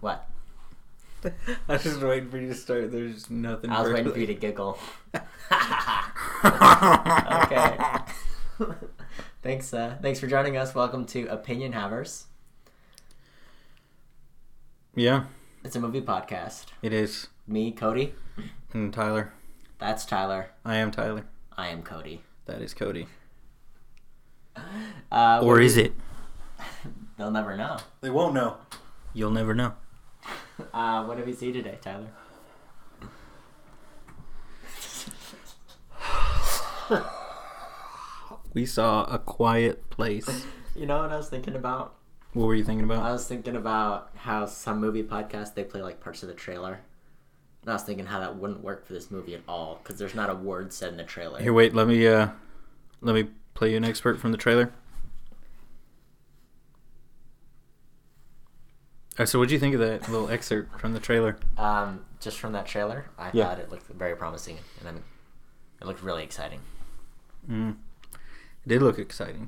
What? I was just waiting for you to start. There's nothing. I was waiting for you to giggle. Okay. Thanks for joining us. Welcome to Opinion Havers. Yeah. It's a movie podcast. It is. Me, Cody. And Tyler. That's Tyler. I am Tyler. I am Cody. That is Cody. Or is it? They'll never know. They won't know. You'll never know. What did we see today, Tyler? We saw A Quiet Place. You know what I was thinking about? What were you thinking about? I was thinking about how some movie podcasts, they play like parts of the trailer. And I was thinking how that wouldn't work for this movie at all, because there's not a word said in the trailer. Here, wait. Let me play you an excerpt from the trailer. So what'd you think of that little excerpt from the trailer? Just from that trailer, I thought it looked very promising, and it looked really exciting. It did look exciting.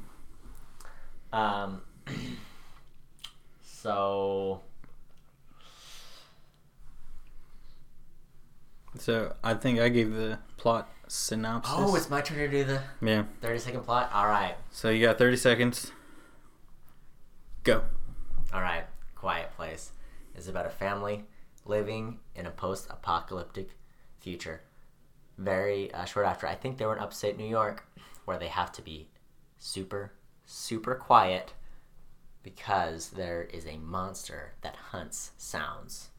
So I think I gave the plot synopsis. Oh, it's my turn to do the 30-second plot? All right. So you got 30 seconds. Go. All right. Quiet Place is about a family living in a post-apocalyptic future. Very short after, I think they were in upstate New York, where they have to be super, super quiet because there is a monster that hunts sounds.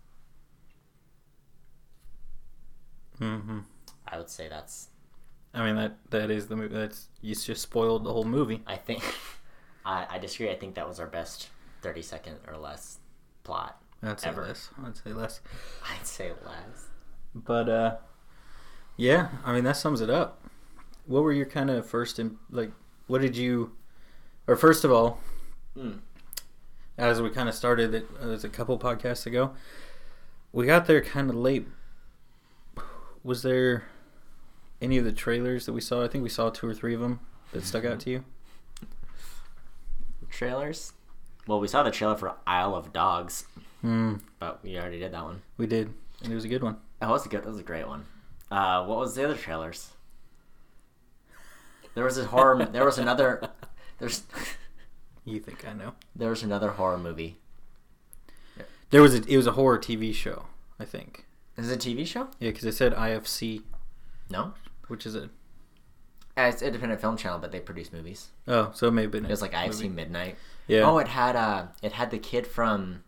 Mm-hmm. I would say that's... I mean, that is the movie. You just spoiled the whole movie. I think... I disagree. I think that was our best 30-second or less plot ever. I'd say less. I'd say less. But, yeah, I mean, that sums it up. What were your kind of first... what did you... Or first of all, as we kind of started, it was a couple podcasts ago, we got there kind of late. Was there any of the trailers that we saw? I think we saw 2 or 3 of them that stuck out to you. Trailers? Well, we saw the trailer for Isle of Dogs, but we already did that one. We did, and it was a good one. That was a great one. What was the other trailers? There was a horror. There was another. There's. You think I know? There was another horror movie. It was a horror TV show, I think. Is it a TV show? Yeah, because it said IFC. No. Which is it? It's an independent film channel, but they produce movies. Oh, so it may have been. It was like IFC Midnight. Yeah. Oh, it had the kid from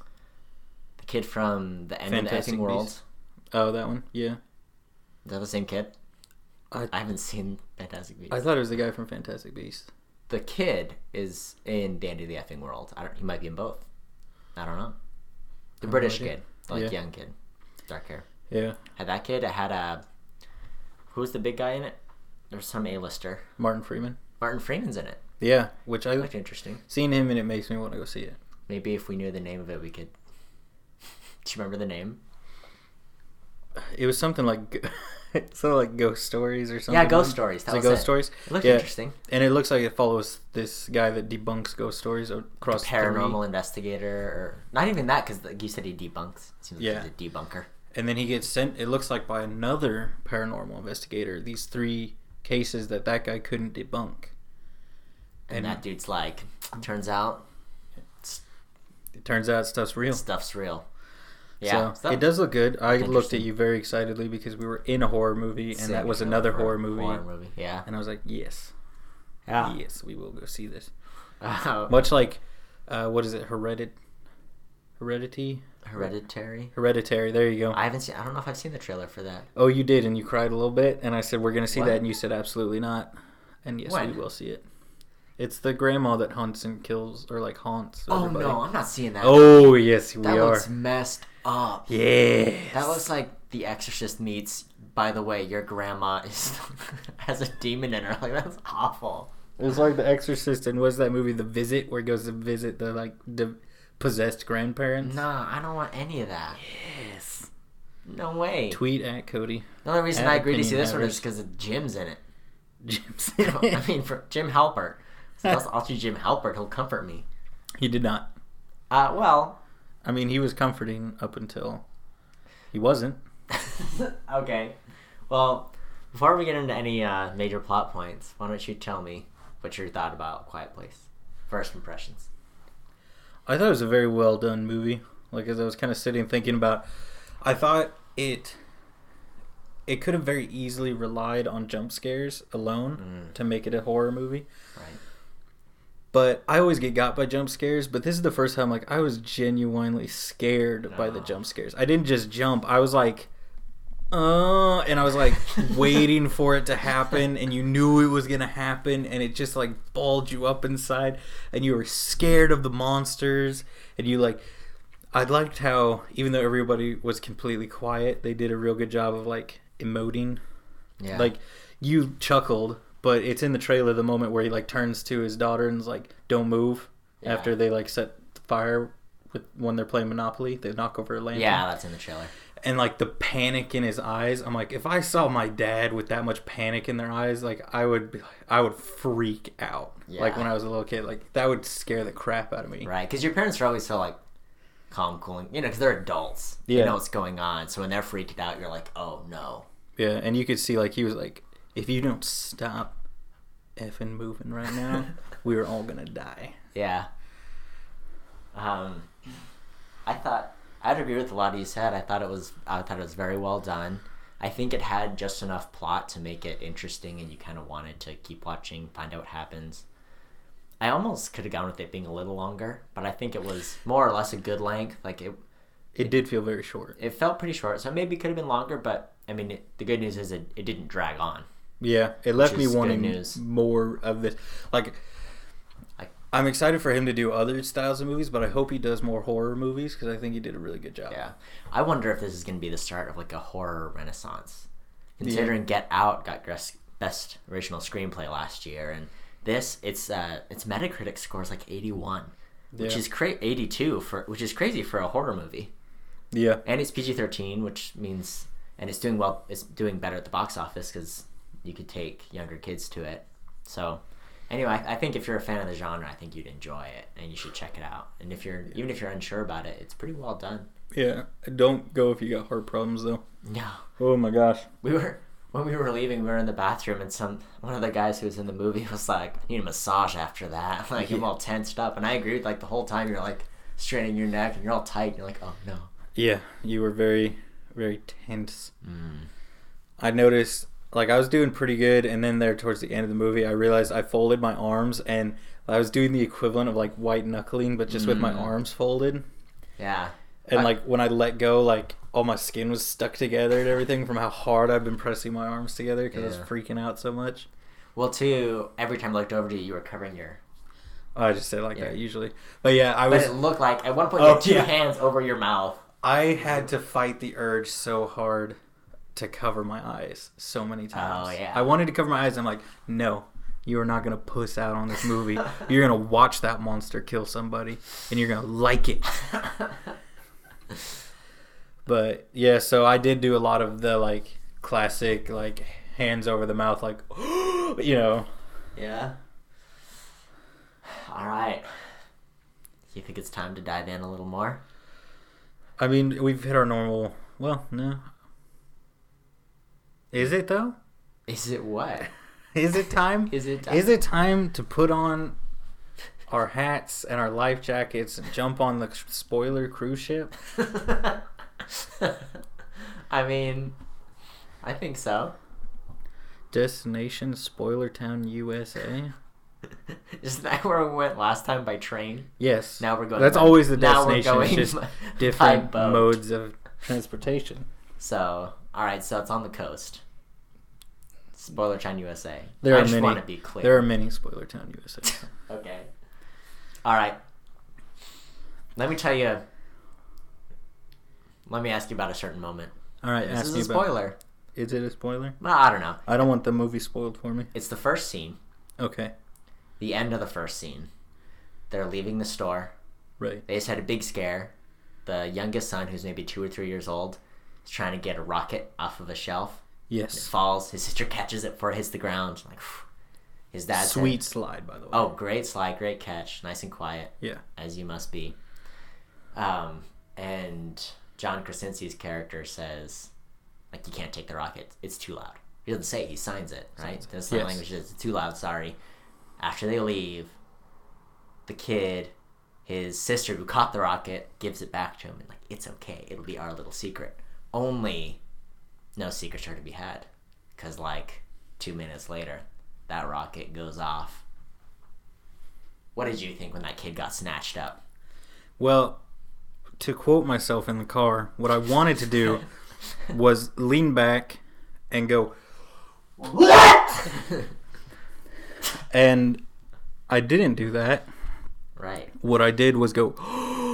the end Fantastic of the effing world. Beasts. Oh, that one. Yeah. Is that the same kid? I haven't seen Fantastic Beasts. I thought it was the guy from Fantastic Beasts. The kid is in Dandy the Effing World. He might be in both. I don't know. The British kid, young kid, dark hair. Yeah. Had that kid. It had who's the big guy in it? There's some A-lister. Martin Freeman. Martin Freeman's in it. Yeah, which I looked interesting. Seeing him and it makes me want to go see it. Maybe if we knew the name of it, we could. Do you remember the name? It was something like Ghost Stories or something. Yeah, Ghost Stories. That was Ghost Stories. It looked interesting. And it looks like it follows this guy that debunks ghost stories across paranormal investigator, or not even that, because you said he debunks. It seems like he's a debunker. And then he gets sent. It looks like by another paranormal investigator. These 3 cases that guy couldn't debunk. And that dude's like, turns out stuff's real. Stuff's real. Yeah. So it does look good. I looked at you very excitedly because we were in a horror movie, and that was another horror movie. Yeah. And I was like, yes. Yeah. Yes, we will go see this. Much like, what is it? Hereditary? Hereditary. There you go. I don't know if I've seen the trailer for that. Oh, you did, and you cried a little bit, and I said, we're going to see that, and you said, absolutely not. And yes, we will see it. It's the grandma that hunts and kills, or haunts everybody. No, I'm not seeing that. Oh, yes, we are. That looks messed up. Yes. That looks like The Exorcist meets, by the way, your grandma has a demon in her. That's awful. It was like The Exorcist, and was that movie The Visit, where he goes to visit the possessed grandparents? Nah, I don't want any of that. Yes. No way. Tweet at Cody. The only reason I agreed to see this one is because Jim's in it. Jim's in it. I mean, for Jim Halpert. So I'll see Jim Halpert. He'll comfort me. He did not. Well, I mean, he was comforting up until he wasn't. Okay. Well, before we get into any major plot points, why don't you tell me what your thought about Quiet Place? First impressions. I thought it was a very well done movie. Like, as I was kind of sitting thinking about, I thought it could have very easily relied on jump scares alone to make it a horror movie. Right. But I always get got by jump scares, but this is the first time like I was genuinely scared by the jump scares. I didn't just jump. I was like, and I was like waiting for it to happen, and you knew it was going to happen, and it just like balled you up inside, and you were scared of the monsters, and you like, I liked how even though everybody was completely quiet, they did a real good job of like emoting. Yeah. Like, you chuckled, but it's in the trailer the moment where he like turns to his daughter and is like, don't move, after they like set fire with when they're playing Monopoly. They knock over a lantern. Yeah, that's in the trailer. And like the panic in his eyes, I'm like, if I saw my dad with that much panic in their eyes, like I would freak out. Yeah. Like when I was a little kid, like that would scare the crap out of me. Right, because your parents are always so like calm, cool, because they're adults. Yeah. You know what's going on. So when they're freaked out, you're like, oh no. Yeah, and you could see like he was like, if you don't stop effing moving right now, we are all gonna die. Yeah. I'd agree with a lot of you said. I thought it was very well done. I think it had just enough plot to make it interesting, and you kind of wanted to keep watching, find out what happens. I almost could have gone with it being a little longer, but I think it was more or less a good length. Like it did feel very short. It felt pretty short, so maybe it could have been longer. But I mean, the good news is it didn't drag on. Yeah, it left me wanting more of this. Like, I'm excited for him to do other styles of movies, but I hope he does more horror movies because I think he did a really good job. Yeah. I wonder if this is going to be the start of like a horror renaissance. Considering Get Out got Best Original Screenplay last year, and its Metacritic score is like 81, which is 82 which is crazy for a horror movie. Yeah. And it's PG-13, which means it's doing well. It's doing better at the box office because you could take younger kids to it. So anyway, I think if you're a fan of the genre, I think you'd enjoy it, and you should check it out. And even if you're unsure about it, it's pretty well done. Yeah, don't go if you got heart problems though. No. Oh my gosh. When we were leaving, we were in the bathroom, and one of the guys who was in the movie was like, "I need a massage after that." Like, I'm all tensed up, and I agreed. Like the whole time, you're like straining your neck, and you're all tight. And you're like, "Oh no." Yeah, you were very, very tense. I noticed. Like, I was doing pretty good, and then there towards the end of the movie, I realized I folded my arms, and I was doing the equivalent of, like, white knuckling, but just with my arms folded. Yeah. And, like, when I let go, like, all my skin was stuck together and everything from how hard I've been pressing my arms together because I was freaking out so much. Well, too, every time I looked over to you, you were covering your... I just say it like that usually. But, yeah, I was... But it looked like, at one point, you had two hands over your mouth. I had to fight the urge so hard to cover my eyes so many times. Oh, yeah. I wanted to cover my eyes. I'm like, no, you are not going to puss out on this movie. You're going to watch that monster kill somebody, and you're going to like it. But, yeah, so I did do a lot of the, like, classic, like, hands over the mouth, like, you know. Yeah. All right. You think it's time to dive in a little more? I mean, we've hit our normal... Well, no. Is it, though? Is it what? Is it time? Is it time? Is it time to put on our hats and our life jackets and jump on the spoiler cruise ship? I mean, I think so. Destination Spoiler Town, USA? Isn't that where we went last time by train? Yes. Now we're going. That's always the now destination. We're it's going just by different boat. modes of transportation. So, all right. So it's on the coast. Spoiler Town, USA. There I are just many. want to be clear. There are many Spoiler Town, USA. Okay. All right. Let me tell you. Let me ask you about a certain moment. All right. This is a spoiler. Is it a spoiler? Well, I don't know. I don't want the movie spoiled for me. It's the first scene. Okay. The end of the first scene. They're leaving the store. Right. They just had a big scare. The youngest son, who's maybe 2 or 3 years old, is trying to get a rocket off of a shelf. Yes. It falls. His sister catches it before it hits the ground. Like, his dad. Sweet slide, by the way. Oh, great slide, great catch, nice and quiet. Yeah. As you must be. John Krasinski's character says, like, you can't take the rocket. It's too loud. He doesn't say it. He signs it, right? The sign language says, it's too loud, sorry. After they leave, the kid, his sister who caught the rocket, gives it back to him. And, like, it's okay. It'll be our little secret. Only no secrets are to be had. Because, like, 2 minutes later, that rocket goes off. What did you think when that kid got snatched up? Well, to quote myself in the car, what I wanted to do was lean back and go, what? And I didn't do that. Right. What I did was go,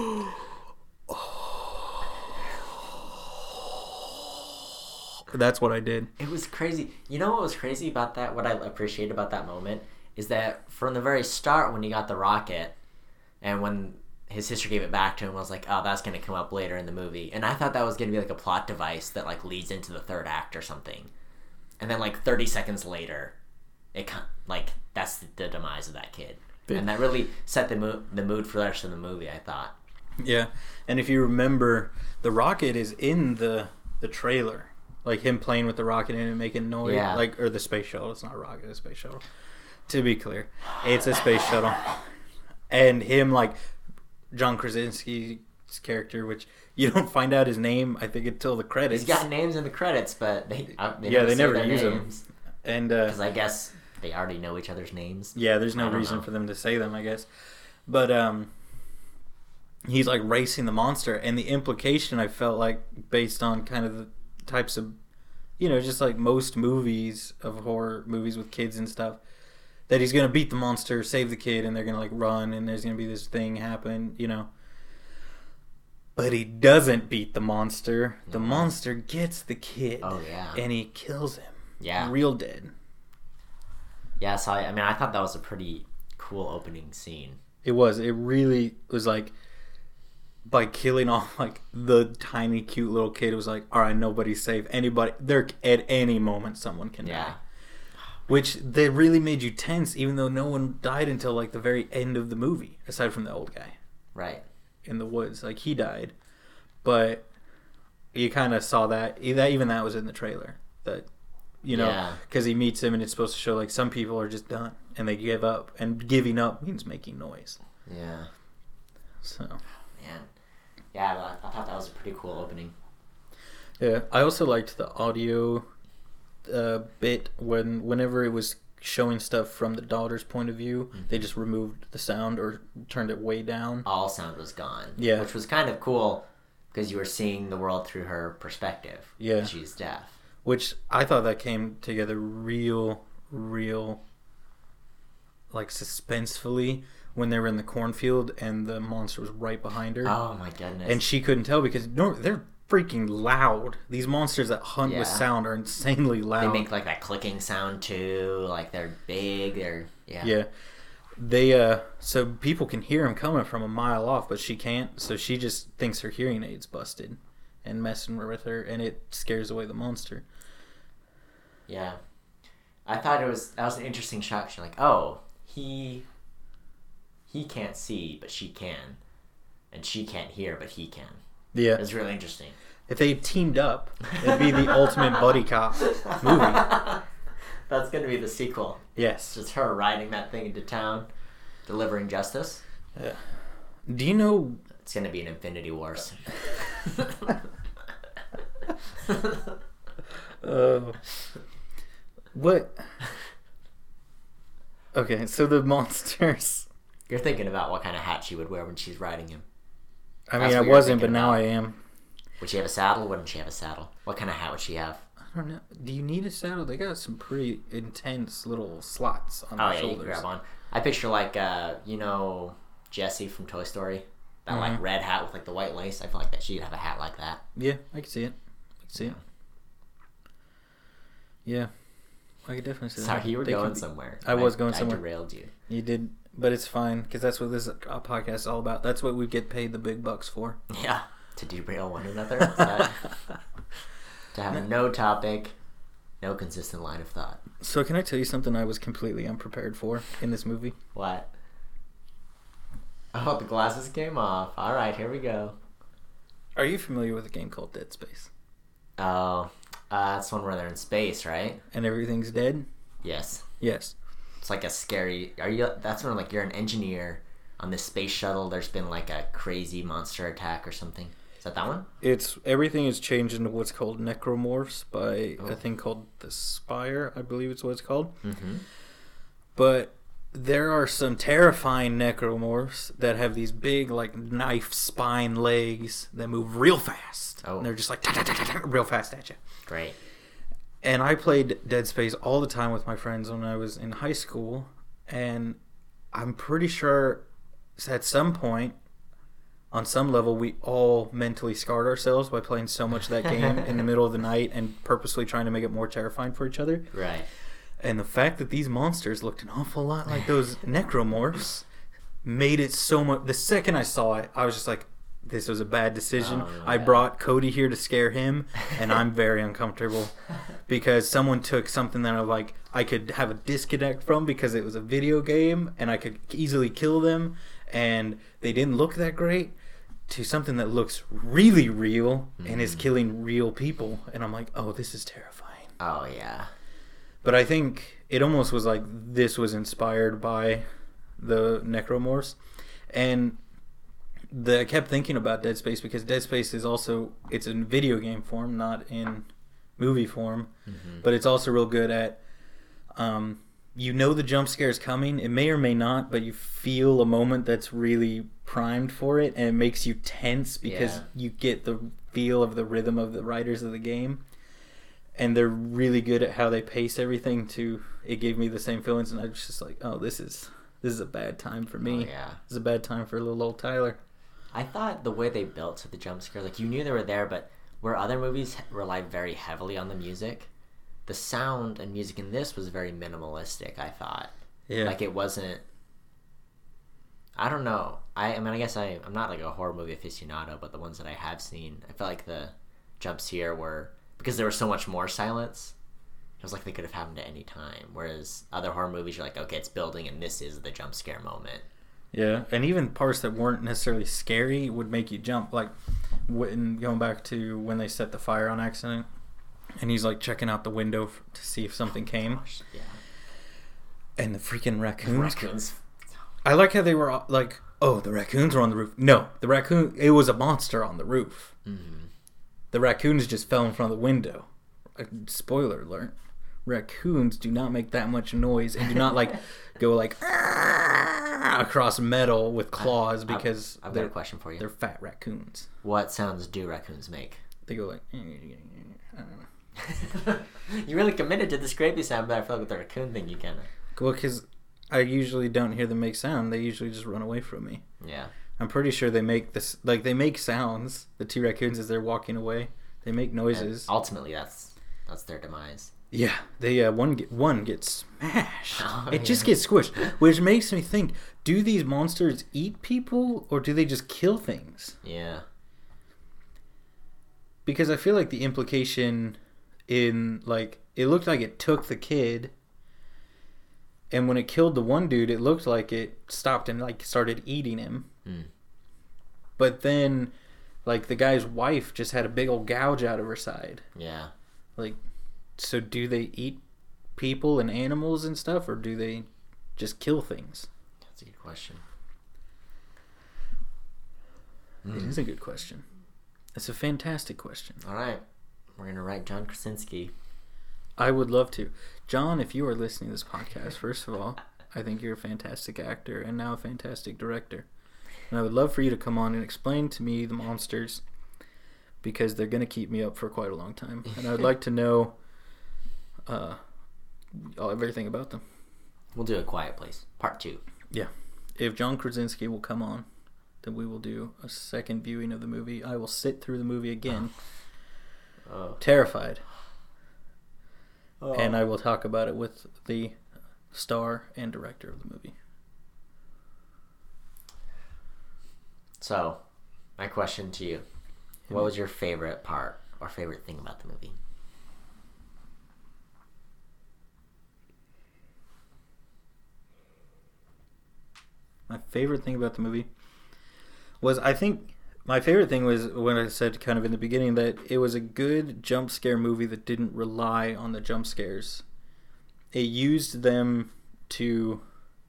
that's what I did. It was crazy. You know what was crazy about that? What I appreciate about that moment is that from the very start when he got the rocket and when his sister gave it back to him, I was like, oh, that's going to come up later in the movie. And I thought that was going to be like a plot device that like leads into the third act or something. And then like 30 seconds later, it like that's the demise of that kid. Yeah. And that really set the mood for the rest of the movie, I thought. Yeah. And if you remember, the rocket is in the trailer. Like him playing with the rocket in it and making noise. Yeah. Like, or the space shuttle. It's not a rocket, it's a space shuttle. To be clear, it's a space shuttle. And him, like, John Krasinski's character, which you don't find out his name, I think, until the credits. He's got names in the credits, but they never use them. And because I guess they already know each other's names. Yeah, there's no reason for them to say them, I guess. But he's like racing the monster, and the implication I felt like based on kind of the types of, you know, just like most movies of horror movies with kids and stuff, that he's gonna beat the monster, save the kid, and they're gonna like run, and there's gonna be this thing happen, you know. But he doesn't beat the monster. The monster gets the kid. Oh yeah. And he kills him. Yeah. Real dead. Yeah, so I thought that was a pretty cool opening scene. It was. It really was like, by killing off like the tiny cute little kid, it was like, all right, nobody's safe. Anybody, there at any moment someone can die. Which they really made you tense, even though no one died until like the very end of the movie, aside from the old guy. Right. In the woods, like he died, but you kind of saw that. Even that was in the trailer. That, you know, because he meets him, and it's supposed to show like some people are just done and they give up, and giving up means making noise. Yeah. So. Man. Yeah, I thought that was a pretty cool opening. Yeah, I also liked the audio bit whenever it was showing stuff from the daughter's point of view, they just removed the sound or turned it way down. All sound was gone. Yeah. Which was kind of cool because you were seeing the world through her perspective. Yeah. She's deaf. Which I thought that came together real, like suspensefully when they were in the cornfield and the monster was right behind her. Oh my goodness. And she couldn't tell because they're freaking loud. These monsters that hunt with sound are insanely loud. They make like that clicking sound too. Like they're big. Yeah. They so people can hear them coming from a mile off, but she can't. So she just thinks her hearing aid's busted and messing with her, and it scares away the monster. Yeah, I thought that was an interesting shot. She's like, oh, he can't see, but she can, and she can't hear, but he can. Yeah. It's really interesting. If they teamed up, it'd be the ultimate buddy cop movie. That's going to be the sequel. Yes. Just her riding that thing into town, delivering justice. Yeah. Do you know... It's going to be an Infinity Wars. What? Okay, so the monsters... You're thinking about what kind of hat she would wear when she's riding him. I mean, I wasn't, but now I am. Would she have a saddle? Wouldn't she have a saddle? What kind of hat would she have? I don't know. Do you need a saddle? They got some pretty intense little slots on their shoulders. You can grab on. I picture like, Jessie from Toy Story. That like red hat with like the white lace. I feel like that she'd have a hat like that. Yeah, I can see it. Yeah, I could definitely see that. Sorry, you were going somewhere. I was going somewhere. I derailed you. You did, but it's fine because that's what this podcast is all about. That's what we get paid the big bucks for. Yeah, to derail one another. To have no topic, no consistent line of thought. So can I tell you something I was completely unprepared for in this movie? What? Oh, the glasses came off. All right, here we go. Are you familiar with a game called Dead Space? Oh, that's one where they're in space, right? And everything's dead? Yes. Yes. It's like a scary. That's when like you're an engineer on this space shuttle. There's been like a crazy monster attack or something. Is that one? Everything is changed into what's called necromorphs by a thing called the Spire, I believe it's what it's called. Mm-hmm. But there are some terrifying necromorphs that have these big, like, knife spine legs that move real fast. Oh. And they're just like real fast at you. Great. And I played Dead Space all the time with my friends when I was in high school. And I'm pretty sure at some point, on some level, we all mentally scarred ourselves by playing so much of that game in the middle of the night and purposely trying to make it more terrifying for each other. Right. And the fact that these monsters looked an awful lot like those necromorphs made it so much... The second I saw it, I was just like, this was a bad decision. Oh, yeah. I brought Cody here to scare him, and I'm very uncomfortable because someone took something that I could have a disconnect from because it was a video game and I could easily kill them, and they didn't look that great, to something that looks really real and is killing real people. And I'm like, oh, this is terrifying. Oh, yeah. But I think it almost was like this was inspired by the necromorphs. And I kept thinking about Dead Space because Dead Space is also, it's in video game form, not in movie form. Mm-hmm. But it's also real good at, you know the jump scare is coming. It may or may not, but you feel a moment that's really primed for it. And it makes you tense because you get the feel of the rhythm of the writers of the game. And they're really good at how they pace everything to... It gave me the same feelings, and I was just like, oh, this is a bad time for me. Oh, yeah. This is a bad time for little old Tyler. I thought the way they built to the jump scares, like, you knew they were there, but where other movies relied very heavily on the music, the sound and music in this was very minimalistic, I thought. Yeah. Like, it wasn't... I don't know. I mean, I guess I'm not, like, a horror movie aficionado, but the ones that I have seen, I felt like the jumps here were... Because there was so much more silence, it was like they could have happened at any time. Whereas other horror movies, you're like, okay, it's building, and this is the jump scare moment. Yeah, and even parts that weren't necessarily scary would make you jump. Like, going back to when they set the fire on accident, and he's, like, checking out the window to see if something came. Gosh, yeah. And the freaking raccoons. I like how they were, like, oh, the raccoons are on the roof. No, it was a monster on the roof. Mm-hmm. The raccoons just fell in front of the window. Spoiler alert. Raccoons do not make that much noise and do not go across metal with claws because I've got a question for you. They're fat raccoons. What sounds do raccoons make? They go like... I don't know. You really committed to the scrapey sound, but I feel like with the raccoon thing you kind of... Well, because I usually don't hear them make sound. They usually just run away from me. Yeah. I'm pretty sure they make this, like, they make sounds. The two raccoons as they're walking away, they make noises. And ultimately, that's their demise. Yeah, they one gets smashed. Oh, it just gets squished, which makes me think: do these monsters eat people, or do they just kill things? Yeah. Because I feel like the implication in, like, it looked like it took the kid. And when it killed the one dude, it looked like it stopped and, like, started eating him. Mm. But then, like, the guy's wife just had a big old gouge out of her side. Yeah. Like, so do they eat people and animals and stuff, or do they just kill things? That's a good question. It is a good question. It's a fantastic question. All right. We're going to write John Krasinski. I would love to. John, if you are listening to this podcast, first of all, I think you're a fantastic actor and now a fantastic director. And I would love for you to come on and explain to me the monsters, because they're going to keep me up for quite a long time. And I would like to know everything about them. We'll do A Quiet Place, Part 2. Yeah. If John Krasinski will come on, then we will do a second viewing of the movie. I will sit through the movie again, terrified. And I will talk about it with the star and director of the movie. So, my question to you. What was your favorite part or favorite thing about the movie? My favorite thing about the movie was, I think, My favorite thing was when I said kind of in the beginning that it was a good jump scare movie that didn't rely on the jump scares. It used them to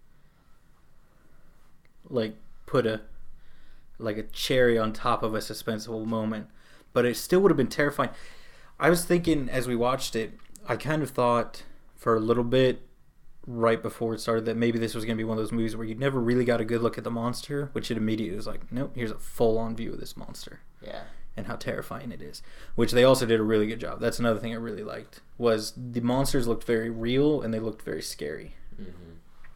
like put a cherry on top of a suspenseful moment, but it still would have been terrifying. I was thinking as we watched it, I kind of thought for a little bit right before it started that maybe this was going to be one of those movies where you never really got a good look at the monster, which it immediately was like, nope, here's a full-on view of this monster. Yeah. And how terrifying it is, which they also did a really good job. That's another thing I really liked, was the monsters looked very real and they looked very scary. Mm-hmm.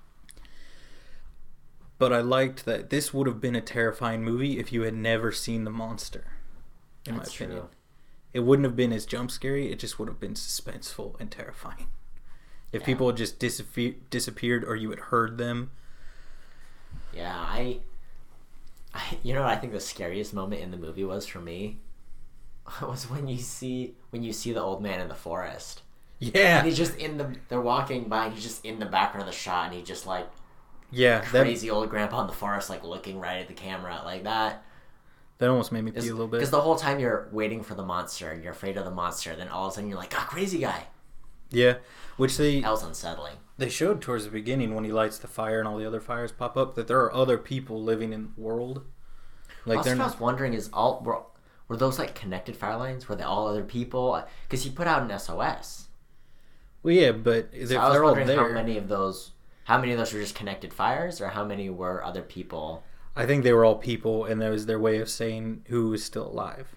But I liked that this would have been a terrifying movie if you had never seen the monster, in That's my opinion. true. It wouldn't have been as jump scary, it just would have been suspenseful and terrifying. If people had just disappeared or you had heard them. Yeah, I you know what I think the scariest moment in the movie was for me? Was when you see the old man in the forest. Yeah. And he's just they're walking by and he's just in the background of the shot and he just like Yeah, crazy old grandpa in the forest, like looking right at the camera, like that. That almost made me pee a little bit. Because the whole time you're waiting for the monster and you're afraid of the monster, then all of a sudden you're like, ah, crazy guy. Yeah, which That was unsettling. they showed towards the beginning when he lights the fire and all the other fires pop up that there are other people living in the world. Like Also, what I was wondering is were those like connected fire lines? Were they all other people? Because he put out an SOS. Well, yeah, but if So I was they're all wondering there, how many of those were just connected fires, or how many were other people? I think they were all people, and that was their way of saying who was still alive.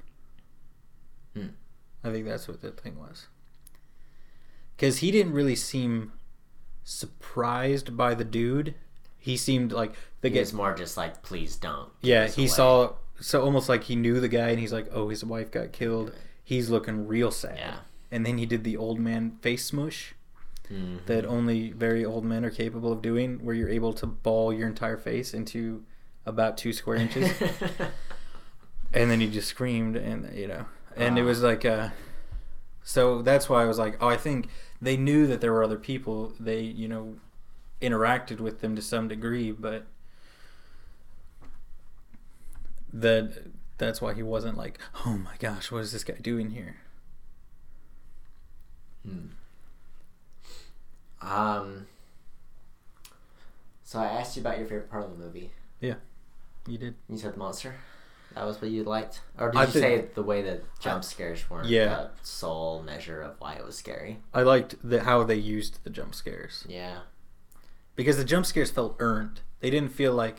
I think that's what the thing was. Because he didn't really seem surprised by the dude. He seemed like He was more just like, please don't. Yeah, he saw, so almost like he knew the guy, and he's like, oh, his wife got killed. He's looking real sad. Yeah. And then he did the old man face smush that only very old men are capable of doing, where you're able to ball your entire face into about 2 square inches. And then he just screamed, and and it was like, so that's why I was like, oh, I think they knew that there were other people. They, interacted with them to some degree, but that's why he wasn't like, oh my gosh, what is this guy doing here? So I asked you about your favorite part of the movie. Yeah, you did. You said the monster. That was what you liked, or did you say the way that jump scares weren't the sole measure of why it was scary? I liked how they used the jump scares. Yeah, because the jump scares felt earned. They didn't feel like,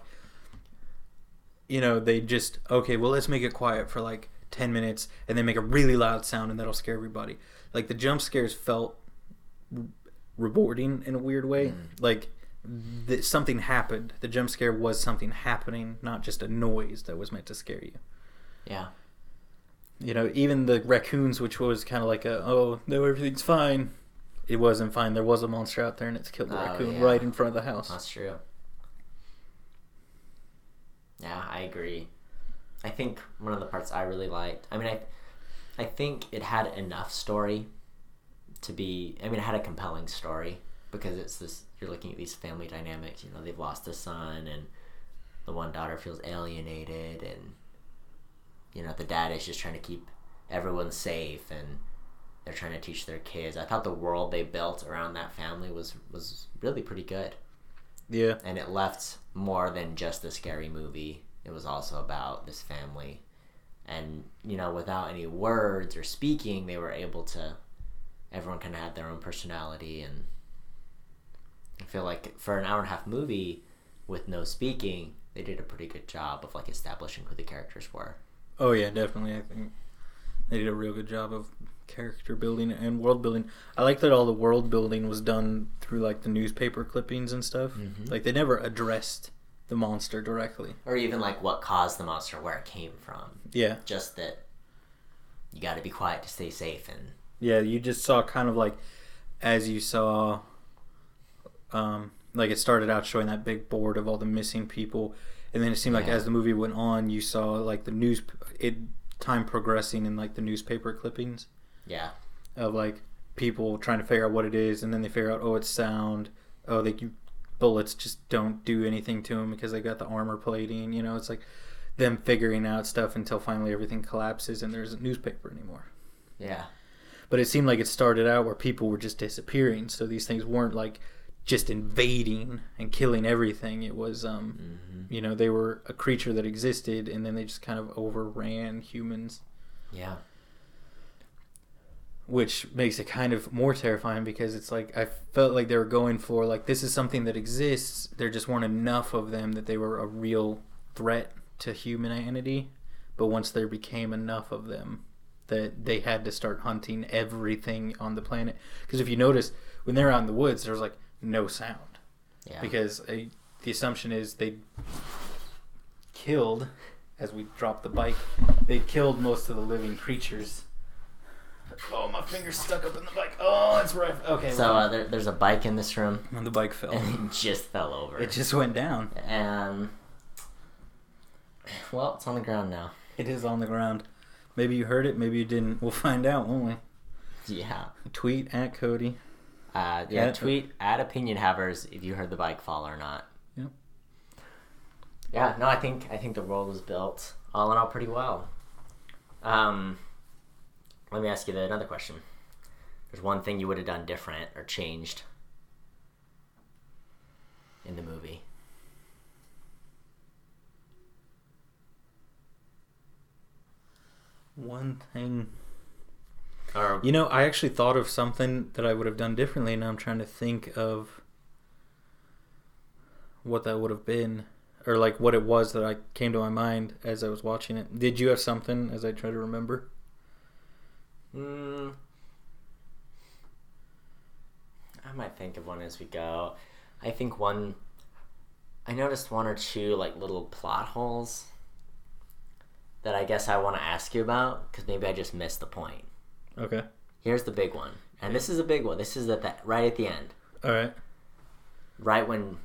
they just, okay, well, let's make it quiet for like 10 minutes and then make a really loud sound and that'll scare everybody. Like the jump scares felt rewarding in a weird way. Like something happened. The jump scare was something happening, not just a noise that was meant to scare you. Yeah. Even the raccoons, which was kind of like oh, no, everything's fine. It wasn't fine. There was a monster out there and it's killed the raccoon right in front of the house. That's true. Yeah, I agree. I think one of the parts I really liked, I think it had enough story to be, it had a compelling story, because it's this, you're looking at these family dynamics, they've lost a son and the one daughter feels alienated, and the dad is just trying to keep everyone safe, and they're trying to teach their kids. I thought the world they built around that family was really pretty good. Yeah. And it left more than just a scary movie. It was also about this family. And, without any words or speaking, they were able to, everyone kind of had their own personality. And I feel like for an hour-and-a-half movie with no speaking, they did a pretty good job of like establishing who the characters were. Oh yeah, definitely. I think they did a real good job of character building and world building. I like that all the world building was done through like the newspaper clippings and stuff. Like they never addressed the monster directly, or even like what caused the monster, where it came from. Yeah, just that you got to be quiet to stay safe. And yeah, you just saw kind of like, as you saw, like it started out showing that big board of all the missing people, and then it seemed like as the movie went on, you saw like time progressing in like the newspaper clippings. Yeah. Of like people trying to figure out what it is, and then they figure out, oh, it's sound. Oh, bullets just don't do anything to them because they got the armor plating. It's like them figuring out stuff until finally everything collapses and there isn't newspaper anymore. Yeah. But it seemed like it started out where people were just disappearing, so these things weren't like just invading and killing everything. It was, you know, they were a creature that existed, and then they just kind of overran humans. Yeah. Which makes it kind of more terrifying because it's like I felt like they were going for like this is something that exists. There just weren't enough of them that they were a real threat to humanity. But once there became enough of them, that they had to start hunting everything on the planet. Because if you notice, when they're out in the woods, there's like no sound. Yeah. Because the assumption is they killed, as we dropped the bike, they killed most of the living creatures. Oh, my finger's stuck up in the bike. Oh, it's right. Okay. So there's a bike in this room. And the bike fell. And it just fell over. It just went down. And, well, it's on the ground now. It is on the ground. Maybe you heard it, maybe you didn't. We'll find out, won't we? Yeah. Tweet at Cody. Tweet at Opinion Havers if you heard the bike fall or not. Yep. Yeah, no, I think the world was built all in all pretty well. Let me ask you another question. There's one thing you would have done different or changed in the movie. One thing. Or, You know, I actually thought of something that I would have done differently, and I'm trying to think of what that would have been, or like what it was that I came to my mind as I was watching it. Did you have something as I try to remember? I might think of one as we go. I noticed one or two like little plot holes that I guess I want to ask you about because maybe I just missed the point. Okay. Here's the big one, and this is a big one. This is right at the end, All right. right when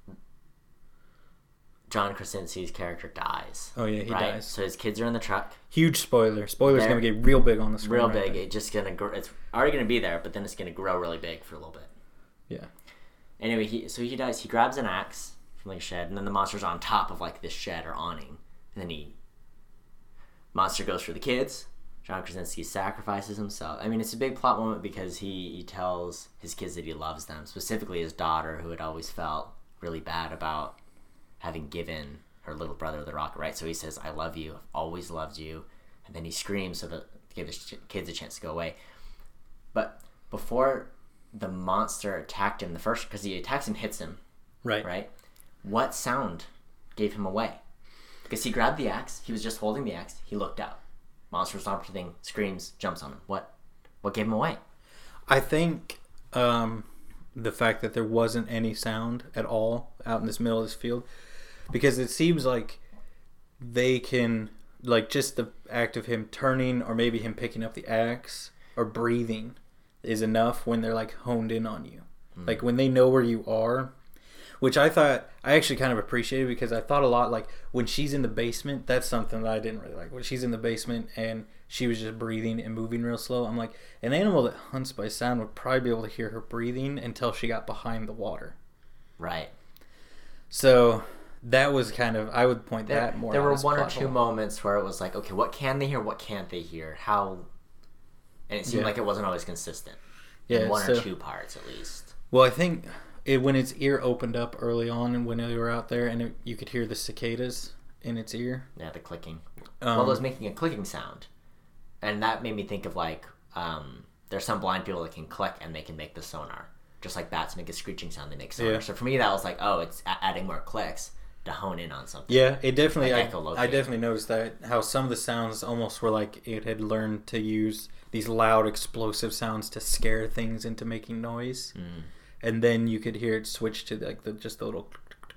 John Krasinski's character dies. Oh yeah, he right? dies. So his kids are in the truck. Huge spoiler. Spoiler's They're gonna get real big on the screen. Real right big. there. It's just gonna grow. It's already gonna be there, but then it's gonna grow really big for a little bit. Yeah. Anyway, he dies. He grabs an axe from like a shed, and then the monster's on top of like this shed or awning, and then monster goes for the kids. John Krasinski sacrifices himself. I mean, it's a big plot moment because he tells his kids that he loves them, specifically his daughter, who had always felt really bad about having given her little brother the rocket, right? So he says, "I love you. I've always loved you," and then he screams so to give his kids a chance to go away. But before the monster attacked him, because he attacks him, hits him, right? What sound gave him away? Because he grabbed the axe, he was just holding the axe, he looked out. Monster stops everything, screams, jumps on him. What gave him away? I think the fact that there wasn't any sound at all out in this middle of this field, because it seems like they can, like, just the act of him turning or maybe him picking up the axe or breathing is enough when they're like honed in on you. Like when they know where you are, which I actually kind of appreciated because I thought a lot like when she's in the basement, that's something that I didn't really like. When she's in the basement and she was just breathing and moving real slow, I'm like, an animal that hunts by sound would probably be able to hear her breathing until she got behind the water. Right. So that was kind of, I would point that more. There were one or two moments where it was like, okay, what can they hear? What can't they hear? How? And it seemed like it wasn't always consistent. Yeah, in one or two parts at least. Well, I think when its ear opened up early on and when they were out there and you could hear the cicadas in its ear. Yeah, the clicking. Well, it was making a clicking sound. And that made me think of like, there's some blind people that can click and they can make the sonar. Just like bats make a screeching sound, they make sonar. Yeah. So for me, that was like, oh, it's adding more clicks to hone in on something. Yeah, it definitely, like I definitely noticed that, how some of the sounds almost were like it had learned to use these loud, explosive sounds to scare things into making noise. And then you could hear it switch to like just the little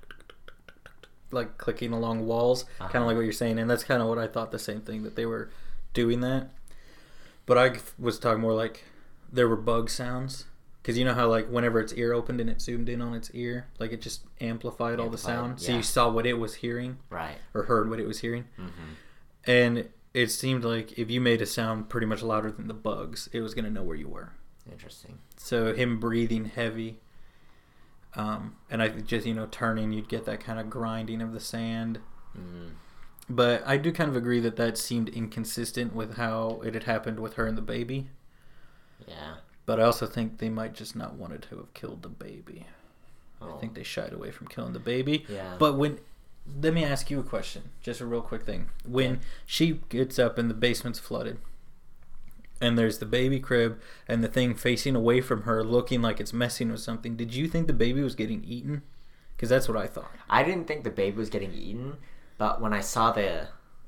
like clicking along walls, kind of like what you're saying. And that's kind of what I thought, the same thing, that they were doing that. But I was talking more like there were bug sounds. Because you know how like whenever its ear opened and it zoomed in on its ear, like it just amplified all the sound. Yeah. So you saw what it was hearing. Right. Or heard what it was hearing. And it seemed like if you made a sound pretty much louder than the bugs, it was going to know where you were. Interesting. So him breathing heavy, and I just, turning, you'd get that kind of grinding of the sand. But I do kind of agree that seemed inconsistent with how it had happened with her and the baby. Yeah. But I also think they might just not wanted to have killed the baby. Oh. I think they shied away from killing the baby. Yeah. But let me ask you a question. Just a real quick thing. When she gets up and the basement's flooded, and there's the baby crib and the thing facing away from her looking like it's messing with something, did you think the baby was getting eaten? Because that's what I thought. I didn't think the baby was getting eaten, but when I saw the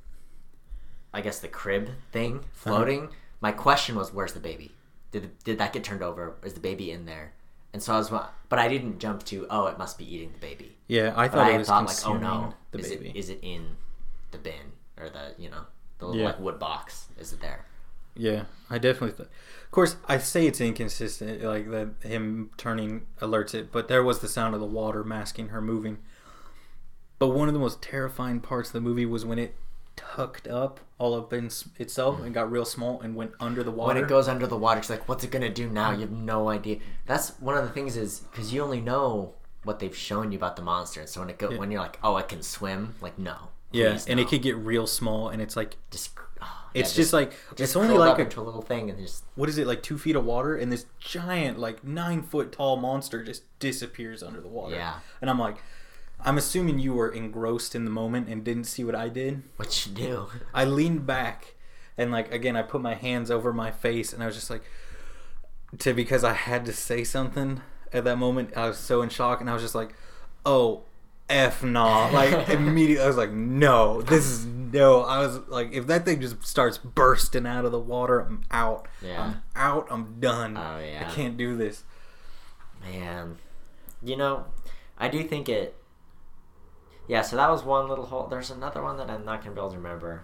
crib thing floating, my question was, where's the baby? Did that get turned over? Is the baby in there? And so but I didn't jump to, oh, it must be eating the baby. Yeah, I thought it was consuming the is baby. Is it in the bin or the little like wood box? Is it there? Yeah, I definitely thought. Of course, I say it's inconsistent, like that him turning alerts it, but there was the sound of the water masking her moving. But one of the most terrifying parts of the movie was when it tucked up all up in itself and got real small and went under the water. When it goes under the water, it's like, what's it gonna do now? You have no idea. That's one of the things is because you only know what they've shown you about the monster, and so when you're like, oh, it can swim, like no. Yeah, and it could get real small, and it's like just like it's only like into a little thing, and just what is it, like 2 feet of water, and this giant like 9-foot tall monster just disappears under the water. Yeah, and I'm like, I'm assuming you were engrossed in the moment and didn't see what I did. What you do? I leaned back, and like again, I put my hands over my face, and I was just like, because I had to say something at that moment. I was so in shock, and I was just like, oh. F nah. Like immediately I was like, no, this is no. I was like, if that thing just starts bursting out of the water, I'm out. Yeah. I'm out, I'm done. Oh yeah. I can't do this. Man. I do think it. Yeah, so that was one little hole. There's another one that I'm not gonna be able to remember.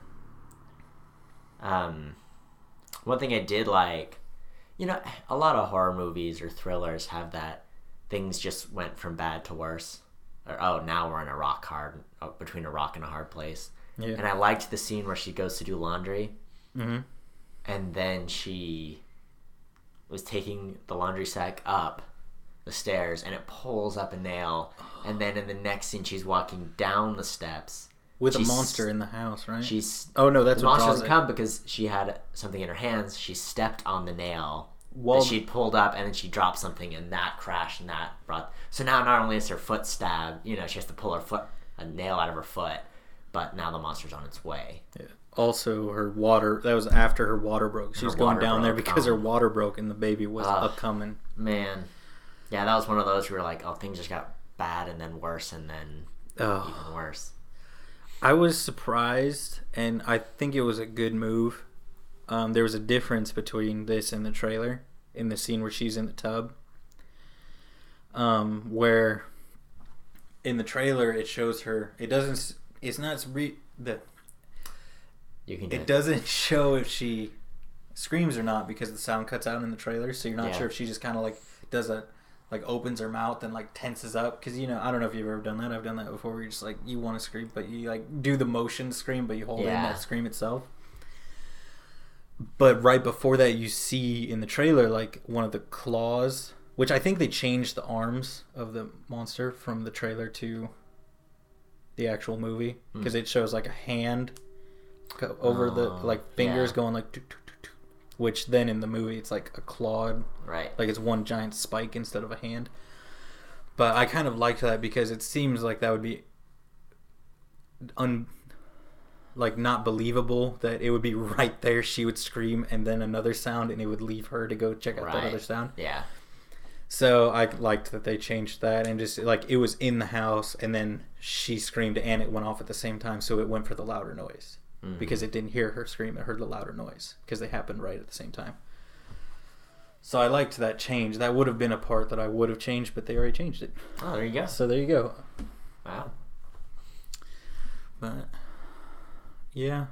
One thing I did like, a lot of horror movies or thrillers have that things just went from bad to worse. Or, oh, now we're in between a rock and a hard place. Yeah. And I liked the scene where she goes to do laundry. Mm-hmm. And then she was taking the laundry sack up the stairs, and it pulls up a nail. And then in the next scene, she's walking down the steps. With a monster in the house, right? Oh, no, that's the what monster doesn't come because she had something in her hands. She stepped on the nail. That she pulled up, and then she dropped something, and that crashed, and that brought. So now, not only is her foot stabbed, she has to pull a nail out of her foot, but now the monster's on its way. Yeah. Also, her water. That was after her water broke. She was going down there because her water broke, and the baby was coming. Man, yeah, that was one of those where like, oh, things just got bad, and then worse, and then even worse. I was surprised, and I think it was a good move. There was a difference between this and the trailer in the scene where she's in the tub. Where in the trailer it shows her. It doesn't. It's not It doesn't show if she screams or not because the sound cuts out in the trailer. So you're not sure if she just kind of like does opens her mouth and like tenses up because I don't know if you've ever done that. I've done that before. Where you're just like you want to scream, but you like do the motion scream, but you hold in that scream itself. But right before that, you see in the trailer like one of the claws, which I think they changed the arms of the monster from the trailer to the actual movie because it shows like a hand over the like fingers going like which then in the movie it's like a clawed, right? Like it's one giant spike instead of a hand. But I kind of liked that because it seems like that would be not believable that it would be right there. She would scream and then another sound and it would leave her to go check out that other sound. Yeah. So I liked that they changed that and just like it was in the house and then she screamed and it went off at the same time. So it went for the louder noise because it didn't hear her scream. It heard the louder noise because they happened right at the same time. So I liked that change. That would have been a part that I would have changed, but they already changed it. Oh, there you go. So there you go. Wow. But yeah.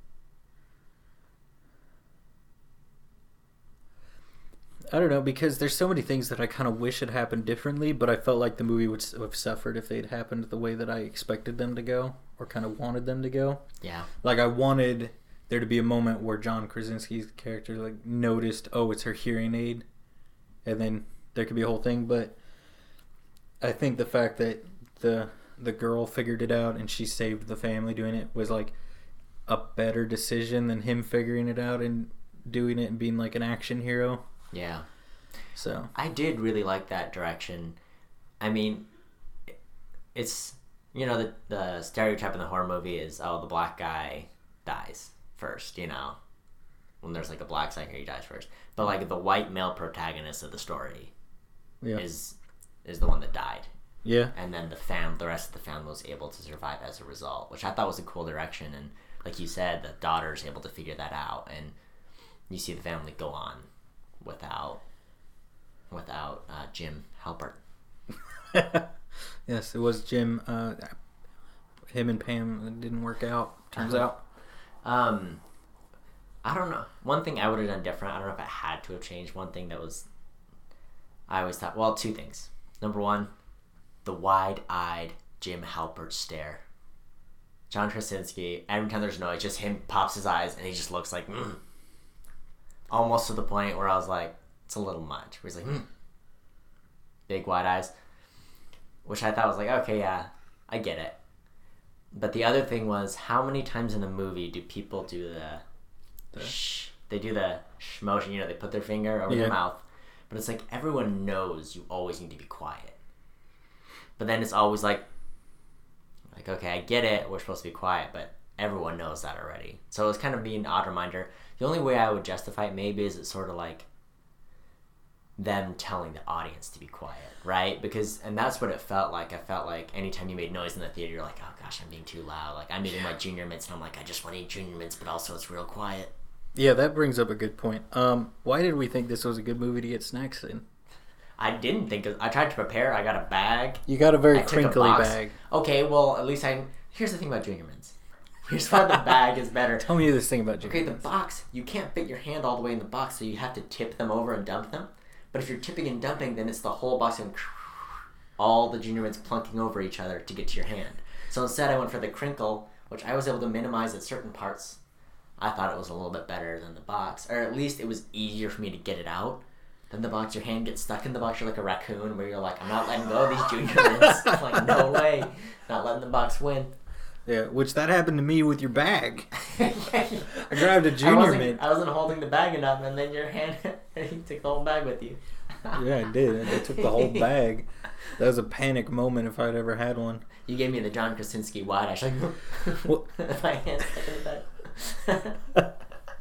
I don't know, because there's so many things that I kind of wish had happened differently, but I felt like the movie would have suffered if they'd happened the way that I expected them to go, or kind of wanted them to go. Yeah. Like, I wanted there to be a moment where John Krasinski's character, like, noticed, oh, it's her hearing aid, and then there could be a whole thing, but I think the fact that the girl figured it out and she saved the family doing it was like a better decision than him figuring it out and doing it and being like an action hero. Yeah. So I did really like that direction. I mean, it's, you know, the stereotype in the horror movie is, oh, the black guy dies first, you know, when there's like a black side here, he dies first. But like the white male protagonist of the story is the one that died. Yeah. And then the rest of the family was able to survive as a result, which I thought was a cool direction. And like you said, the daughter's able to figure that out, and you see the family go on without Jim Halpert. Yes, it was Jim. Him and Pam, it didn't work out. Turns out. I don't know. One thing I would have done different. I don't know if I had to have changed. One thing that was, I always thought. Well, two things. Number one, the wide-eyed Jim Halpert stare. John Krasinski. Every time there's noise, just him pops his eyes and he just looks like, almost to the point where I was like, it's a little much. Where he's like, big wide eyes, which I thought was like, okay, yeah, I get it. But the other thing was, how many times in the movie do people do the shh? They do the shh motion, you know, they put their finger over their mouth. But it's like, everyone knows you always need to be quiet. But then it's always like, okay, I get it, we're supposed to be quiet, but everyone knows that already. So it was kind of being an odd reminder. The only way I would justify it maybe is it's sort of like them telling the audience to be quiet, right? And that's what it felt like. I felt like anytime you made noise in the theater, you're like, oh gosh, I'm being too loud. Like, I'm eating my Junior Mints, and I'm like, I just want to eat Junior Mints, but also it's real quiet. Yeah, that brings up a good point. Why did we think this was a good movie to get snacks in? I didn't think I tried to prepare. I got a bag. You got a very crinkly bag. Okay, well, at least here's the thing about Junior Mints. Here's why the bag is better. Tell me this thing about Junior Mints. The box, you can't fit your hand all the way in the box, so you have to tip them over and dump them. But if you're tipping and dumping, then it's the whole box and all the Junior Mints plunking over each other to get to your hand. So instead I went for the crinkle, which I was able to minimize at certain parts. I thought it was a little bit better than the box. Or at least it was easier for me to get it out than the box. Your hand gets stuck in the box, you're like a raccoon, where you're like, I'm not letting go of these Junior Mints. Like, no way. Not letting the box win. Yeah, which that happened to me with your bag. I grabbed a Junior Mint. I wasn't holding the bag enough, and then your hand, you took the whole bag with you. Yeah, I did. I took the whole bag. That was a panic moment if I'd ever had one. You gave me the John Krasinski wide eye. Like, my hand's stuck in the bag.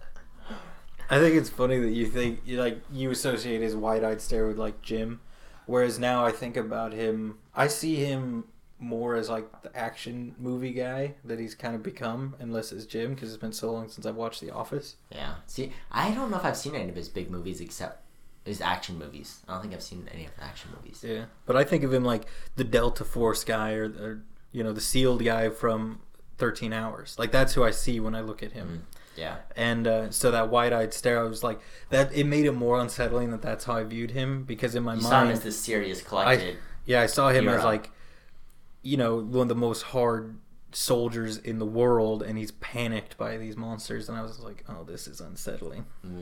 I think it's funny that you associate his wide-eyed stare with like Jim, whereas now I think about him, I see him more as like the action movie guy that he's kind of become, unless it's Jim, because it's been so long since I've watched The Office. Yeah. See, I don't know if I've seen any of his big movies except his action movies. I don't think I've seen any of the action movies. Yeah, but I think of him like the Delta Force guy or you know, the SEALed guy from 13 Hours. Like, that's who I see when I look at him. Yeah. And so that wide-eyed stare, I was like, that it made it more unsettling that that's how I viewed him, because in my mind, saw him as this serious, collected. I saw him hero. as like, you know, one of the most hard soldiers in the world, and he's panicked by these monsters, and I was like, oh, this is unsettling.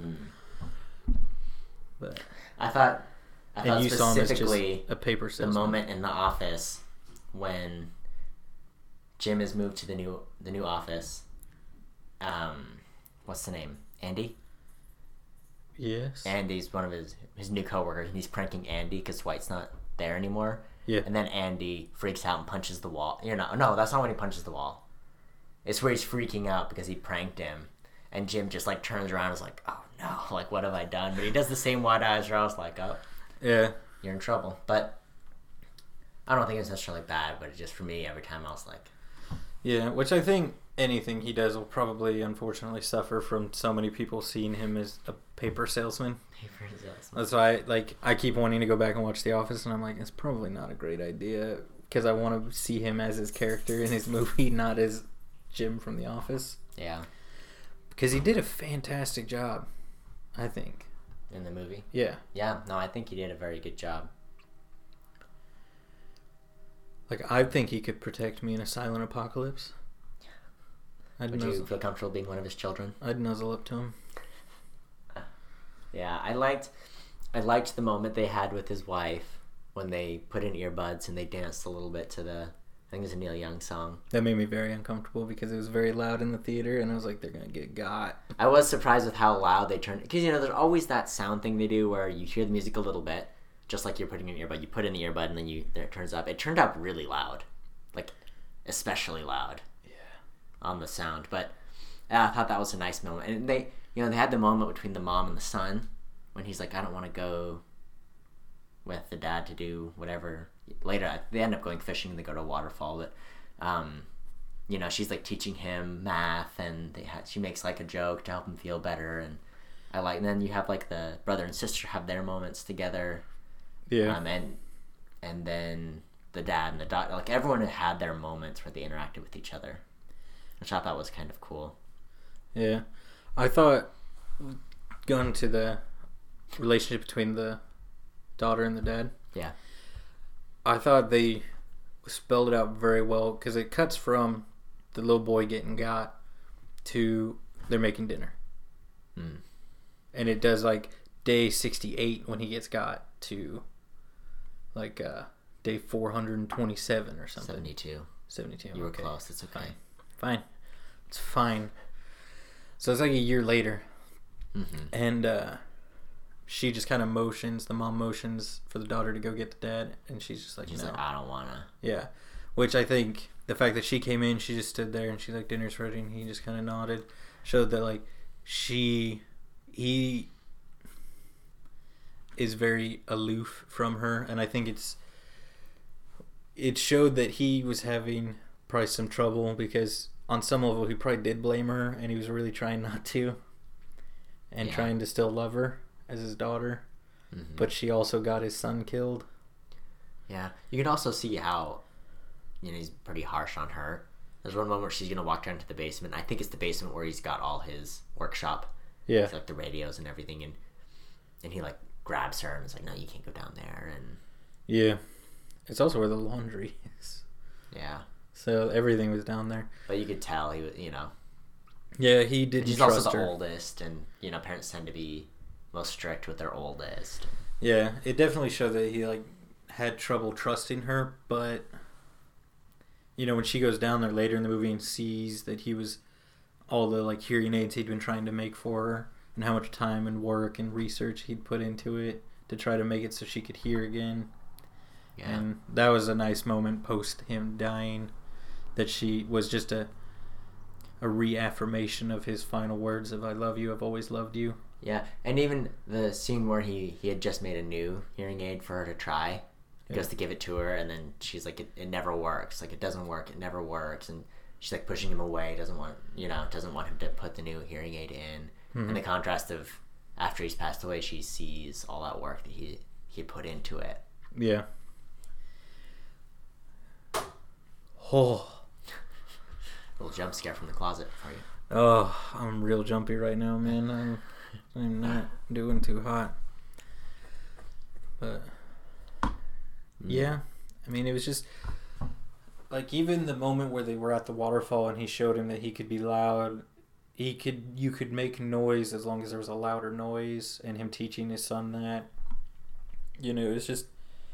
But I thought you saw him as just specifically a paper salesman. The moment in The Office when Jim is moved to the new office. What's the name? Andy? Yes. Andy's one of his new coworkers, and he's pranking Andy because Dwight's not there anymore. Yeah. And then Andy freaks out and punches the wall. No, that's not when he punches the wall. It's where he's freaking out because he pranked him. And Jim just like turns around and is like, oh no, like what have I done? But he does the same wide eyes where I was like, oh, yeah, you're in trouble. But I don't think it's necessarily bad, but it just, for me, every time I was like... Yeah, which I think anything he does will probably, unfortunately, suffer from so many people seeing him as a paper salesman. Paper salesman. That's why I keep wanting to go back and watch The Office, and I'm like, it's probably not a great idea, because I want to see him as his character in his movie, not as Jim from The Office. Yeah. Because he did a fantastic job, I think. In the movie? Yeah. Yeah, no, I think he did a very good job. Like, I think he could protect me in a silent apocalypse. Would you feel comfortable being one of his children? I'd nuzzle up to him. Yeah, I liked the moment they had with his wife when they put in earbuds and they danced a little bit to the I think it's a Neil Young song. That made me very uncomfortable because it was very loud in the theater, and I was like, they're gonna get got. I was surprised with how loud they turned, because there's always that sound thing they do where you hear the music a little bit, just like you're putting in an earbud. You put in the earbud and then it turns up. It turned out really loud, like especially loud. Yeah. On the sound, but I thought that was a nice moment, and they had the moment between the mom and the son when he's like, I don't want to go with the dad to do whatever. Later, they end up going fishing and they go to a waterfall, but she's like teaching him math, and she makes like a joke to help him feel better, and and then you have like the brother and sister have their moments together, and then the dad and the daughter, like everyone had their moments where they interacted with each other, which I thought was kind of cool. Yeah, I thought going to the relationship between the daughter and the dad. Yeah. I thought they spelled it out very well because it cuts from the little boy getting got to they're making dinner. Mm. And it does like day 68 when he gets got to like day 427 or something. 72. You were close. It's okay. Fine. It's fine. So it's like a year later. Mm-hmm. And she just kind of the mom motions for the daughter to go get the dad, and she's just like, she's no. like, I don't want to. Yeah. Which I think the fact that she came in, she just stood there and she's like, dinner's ready, and he just kind of nodded, showed that like he is very aloof from her, and I think it showed that he was having probably some trouble because on some level he probably did blame her, and he was really trying not to, and trying to still love her as his daughter, but she also got his son killed. Yeah, you can also see how he's pretty harsh on her. There's one moment where she's gonna walk down to the basement. I think it's the basement where he's got all his workshop. Yeah, with, like the radios and everything, and he like grabs her and is like, no, you can't go down there. And yeah, it's also where the laundry is. Yeah, so everything was down there. But you could tell he was, Yeah, he didn't. He's trust also the her. oldest, and parents tend to be most strict with their oldest. Yeah, it definitely showed that he like had trouble trusting her, but when she goes down there later in the movie and sees that he was all the like hearing aids he'd been trying to make for her, and how much time and work and research he'd put into it to try to make it so she could hear again. Yeah. And that was a nice moment post him dying, that she was just a reaffirmation of his final words of, I love you, I've always loved you. Yeah, and even the scene where he had just made a new hearing aid for her to try, goes to give it to her, and then she's like, it never works. Like, it doesn't work, it never works. And she's like pushing him away, doesn't want him to put the new hearing aid in. Mm-hmm. And the contrast of after he's passed away, she sees all that work that he had put into it. Yeah. Oh. A little jump scare from the closet for you. Oh, I'm real jumpy right now, man. I'm not doing too hot. But yeah, I mean, it was just like, even the moment where they were at the waterfall and he showed him that he could be loud, you could make noise as long as there was a louder noise, and him teaching his son that, it was just,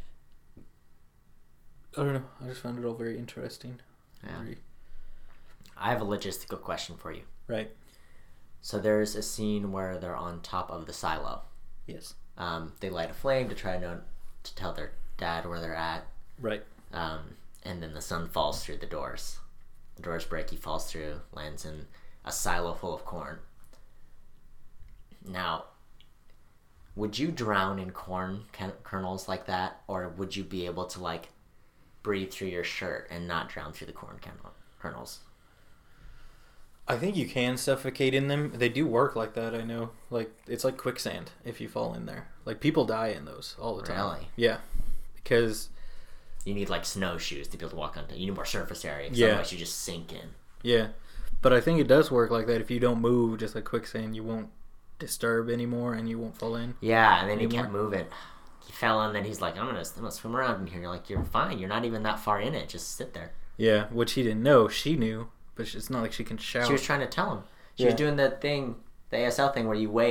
I don't know, I just found it all very interesting. Yeah. I have a logistical question for you. Right. So there's a scene where they're on top of the silo. Yes. They light a flame to try to tell their dad where they're at. Right. And then the son falls through the doors. The doors break, he falls through, lands in a silo full of corn. Now, would you drown in corn kernels like that? Or would you be able to, like, breathe through your shirt and not drown through the corn kernels? I think you can suffocate in them. They do work like that, I know. Like, it's like quicksand if you fall in there. Like, people die in those all the time. Really? Yeah. Because you need, like, snowshoes to be able to walk on. You need more surface area. Yeah. Otherwise you just sink in. Yeah. But I think it does work like that. If you don't move, just like quicksand, you won't disturb anymore and you won't fall in. Yeah, and then he kept moving. He fell in, and then he's like, I'm gonna swim around in here. You're like, you're fine. You're not even that far in it. Just sit there. Yeah, which he didn't know. She knew. But it's not like she can shout. She was trying to tell him. She was doing the ASL thing where you wave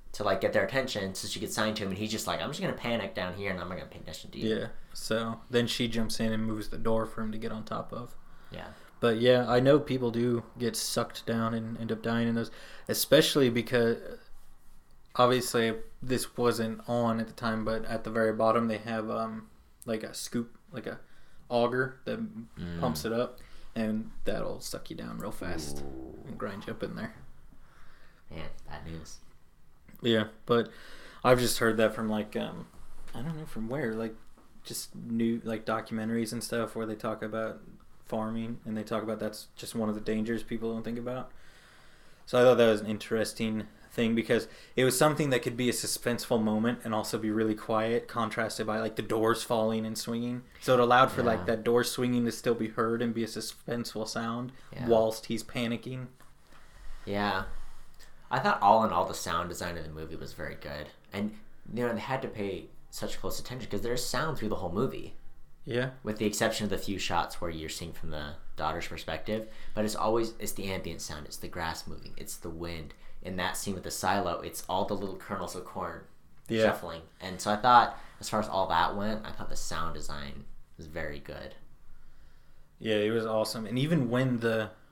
to like get their attention so she could sign to him, and he's just like, I'm just gonna panic down here and I'm not gonna pay attention to you. Yeah. So then she jumps in and moves the door for him to get on top of. Yeah. But yeah, I know people do get sucked down and end up dying in those, especially because obviously this wasn't on at the time, but at the very bottom they have like a scoop, like a auger that pumps it up, and that'll suck you down real fast and grind you up in there. Man, bad news. Yeah, but I've just heard that from like I don't know from where, like just new like documentaries and stuff where they talk about farming, and they talk about that's just one of the dangers people don't think about. So I thought that was an interesting thing because it was something that could be a suspenseful moment and also be really quiet, contrasted by like the doors falling and swinging. So it allowed for like that door swinging to still be heard and be a suspenseful sound whilst he's panicking. Yeah. I thought all in all the sound design of the movie was very good. And, you know, they had to pay such close attention because there's sound through the whole movie. Yeah. With the exception of the few shots where you're seeing from the daughter's perspective. But it's the ambient sound. It's the grass moving. It's the wind. In that scene with the silo, it's all the little kernels of corn shuffling. And so I thought, as far as all that went, I thought the sound design was very good. Yeah, it was awesome. And even when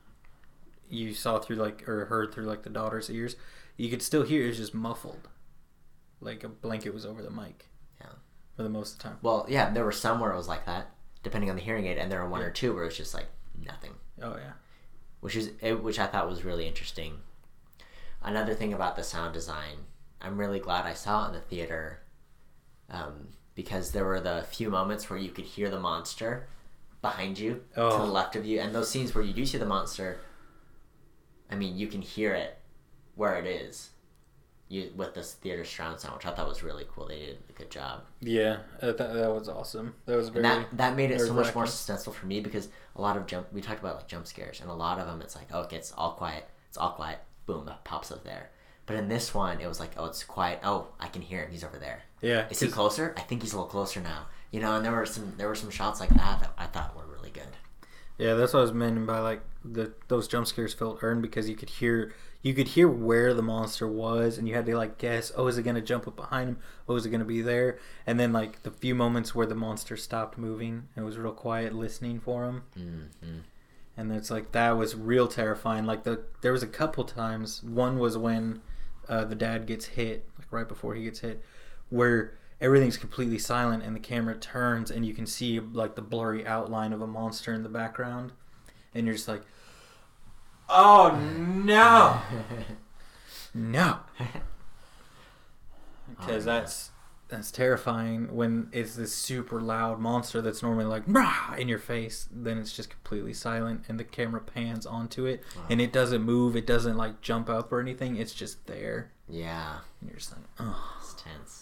you saw through like, or heard through like the daughter's ears, you could still hear it was just muffled. Like a blanket was over the mic. Yeah. For the most of the time. Well, yeah, there were some where it was like that, depending on the hearing aid, and there were one or two where it was just like nothing. Oh, yeah. Which I thought was really interesting. Another thing about the sound design, I'm really glad I saw it in the theater, because there were the few moments where you could hear the monster behind you, to the left of you, and those scenes where you do see the monster, I mean, you can hear it where it is, with this theater surround sound, which I thought was really cool. They did a good job. Yeah, that was awesome. That was very. And that made it so much more suspenseful for me because a lot of we talked about like jump scares, and a lot of them it's like, oh, it gets all quiet. It's all quiet. Boom, that pops up there. But in this one, it was like, oh, it's quiet. Oh, I can hear him. He's over there. Yeah. Is he closer? I think he's a little closer now. You know, and there were some shots like that I thought were really good. Yeah, that's what I was meaning by like those jump scares felt earned because you could hear where the monster was, and you had to like guess, oh, is it gonna jump up behind him? Oh, is it gonna be there? And then like the few moments where the monster stopped moving, it was real quiet, listening for him. Mm-hmm. And it's like that was real terrifying. Like there was a couple times. One was when the dad gets hit, like right before he gets hit, where everything's completely silent and the camera turns and you can see like the blurry outline of a monster in the background, and you're just like, oh no, no, because that's terrifying when it's this super loud monster that's normally like Rah! In your face. Then it's just completely silent and the camera pans onto it and it doesn't move. It doesn't like jump up or anything. It's just there. Yeah. And you're just like, oh. It's tense.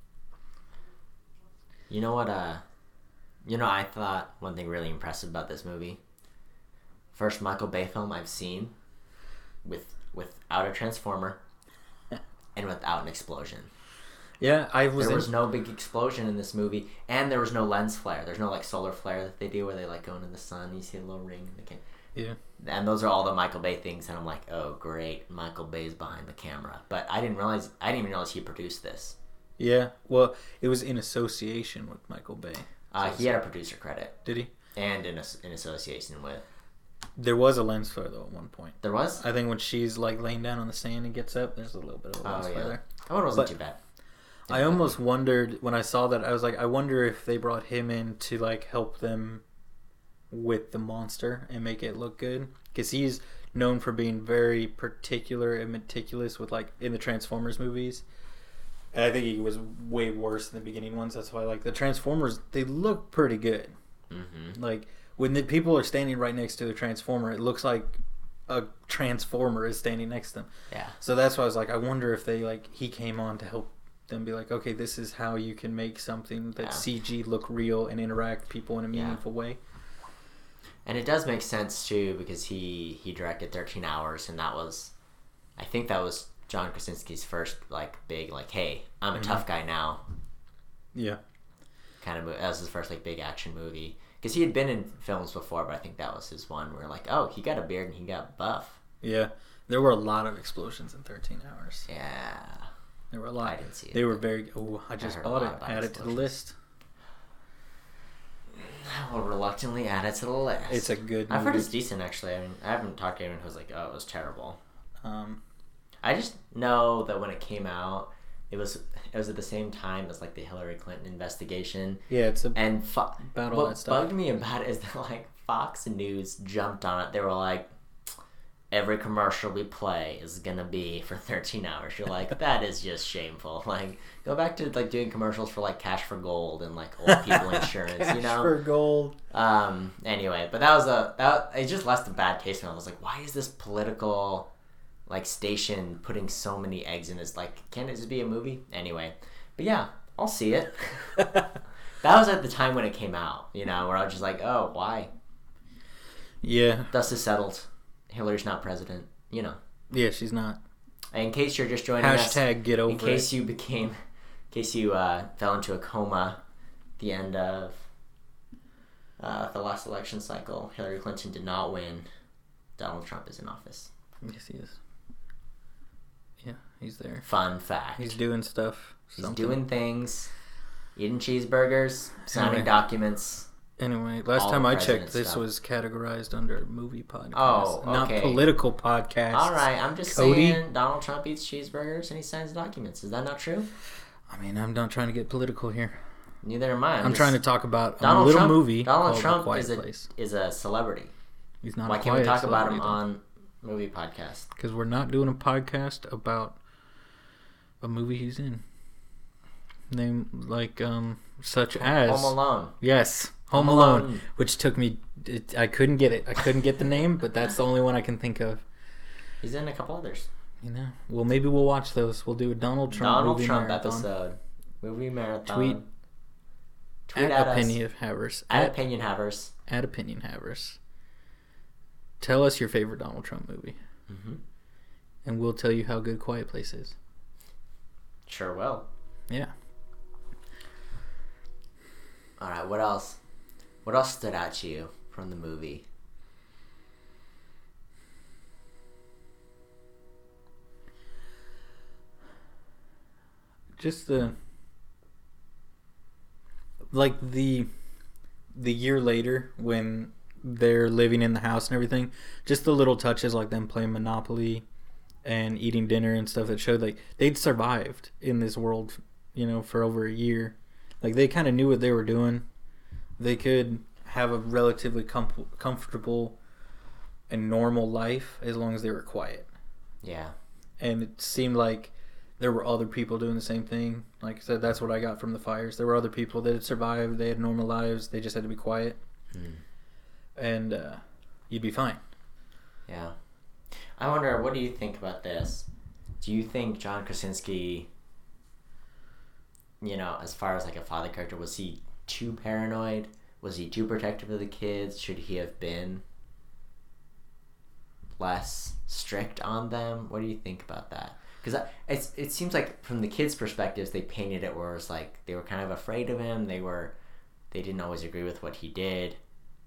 You know what? I thought one thing really impressive about this movie. First Michael Bay film I've seen without a transformer and without an explosion. Yeah, there was no big explosion in this movie, and there was no lens flare. There's no like solar flare that they do where they like go into the sun. You see a little ring. Yeah. And those are all the Michael Bay things, and I'm like, oh great, Michael Bay's behind the camera. But I didn't even realize he produced this. Yeah, well, it was in association with Michael Bay. He had a producer credit. Did he? And in association with. There was a lens flare though at one point. There was? I think when she's like laying down on the sand and gets up, there's a little bit of a lens flare there. Oh, it wasn't too bad. I almost wondered when I saw that. I was like, I wonder if they brought him in to like help them with the monster and make it look good, because he's known for being very particular and meticulous with like in the Transformers movies. And I think he was way worse in the beginning ones. That's why like the Transformers, they look pretty good. Mm-hmm. Like when the people are standing right next to the Transformer, it looks like a Transformer is standing next to them. Yeah. So that's why I was like, I wonder if he came on to help them be like, okay, this is how you can make something that CG look real and interact with people in a meaningful way. And it does make sense too, because he directed 13 Hours, and I think that was John Krasinski's first like big like, hey, I'm a tough guy now. Yeah. Kind of. That was his first like big action movie, because he had been in films before, but I think that was his one where like, oh, he got a beard and he got buff. Yeah, there were a lot of explosions in 13 Hours. Yeah. There were a lot. I didn't see it. They were very. Oh, I just bought it. Add it to the list. I will reluctantly add it to the list. It's a good movie. I've heard it's decent, actually. I mean, I haven't talked to anyone who's like, oh, it was terrible. I just know that when it came out, it was at the same time as like the Hillary Clinton investigation. Yeah, it's about all that stuff. What bugged me about it is that like Fox News jumped on it. They were like, every commercial we play is gonna be for 13 hours. You're like, that is just shameful. Like, go back to like doing commercials for like Cash for Gold and like old people insurance. Cash you know, for Gold. Anyway, but that it just left a bad taste in me. I was like, why is this political like station putting so many eggs in this? Like, can't it just be a movie? Anyway, but yeah, I'll see it. That was at the time when it came out. You know, where I was just like, oh, why? Yeah. Dust is settled. Hillary's not president, you know. Yeah, she's not. In case you're just joining us, get over in case you fell into a coma at the end of the last election cycle, Hillary Clinton did not win. Donald Trump is in office. Yes, he is. Yeah, he's there. Fun fact. He's doing stuff. He's doing things, eating cheeseburgers, signing documents. Anyway, last time I checked, this was categorized under movie podcast. Oh, okay. Not political podcast. All right, I'm just saying Donald Trump eats cheeseburgers and he signs documents. Is that not true? I mean, I'm not trying to get political here. Neither am I. I'm trying to talk about a little movie Donald called Trump The Quiet Place. is a celebrity. He's not. Why can't we talk about him on movie podcast? Because we're not doing a podcast about a movie he's in. Name like such as Home Alone. Yes. Home Alone, which took me. I couldn't get it. I couldn't get the name, but that's the only one I can think of. He's in a couple others. You know, well, maybe we'll watch those. We'll do a Donald Trump marathon. Episode. Movie marathon. Tweet at Opinion Havers. At Opinion Havers. At Opinion Havers. Tell us your favorite Donald Trump movie, and we'll tell you how good Quiet Place is. Sure will. Yeah. All right. What else? What else stood out to you from the movie? Just the year later when they're living in the house and everything, just the little touches like them playing Monopoly and eating dinner and stuff that showed like they'd survived in this world, you know, for over a year. Like they kind of knew what they were doing. They could have a relatively comfortable and normal life as long as they were quiet. Yeah. And it seemed like there were other people doing the same thing. Like I said, that's what I got from the fires. There were other people that had survived. They had normal lives. They just had to be quiet. And you'd be fine. Yeah. I wonder, what do you think about this? Do you think John Krasinski, you know, as far as like a father character, was he too paranoid? Was he too protective of the kids? Should he have been less strict on them? What do you think about that? Because it seems like from the kids' perspectives, they painted it where it's like they were kind of afraid of him. They didn't always agree with what he did.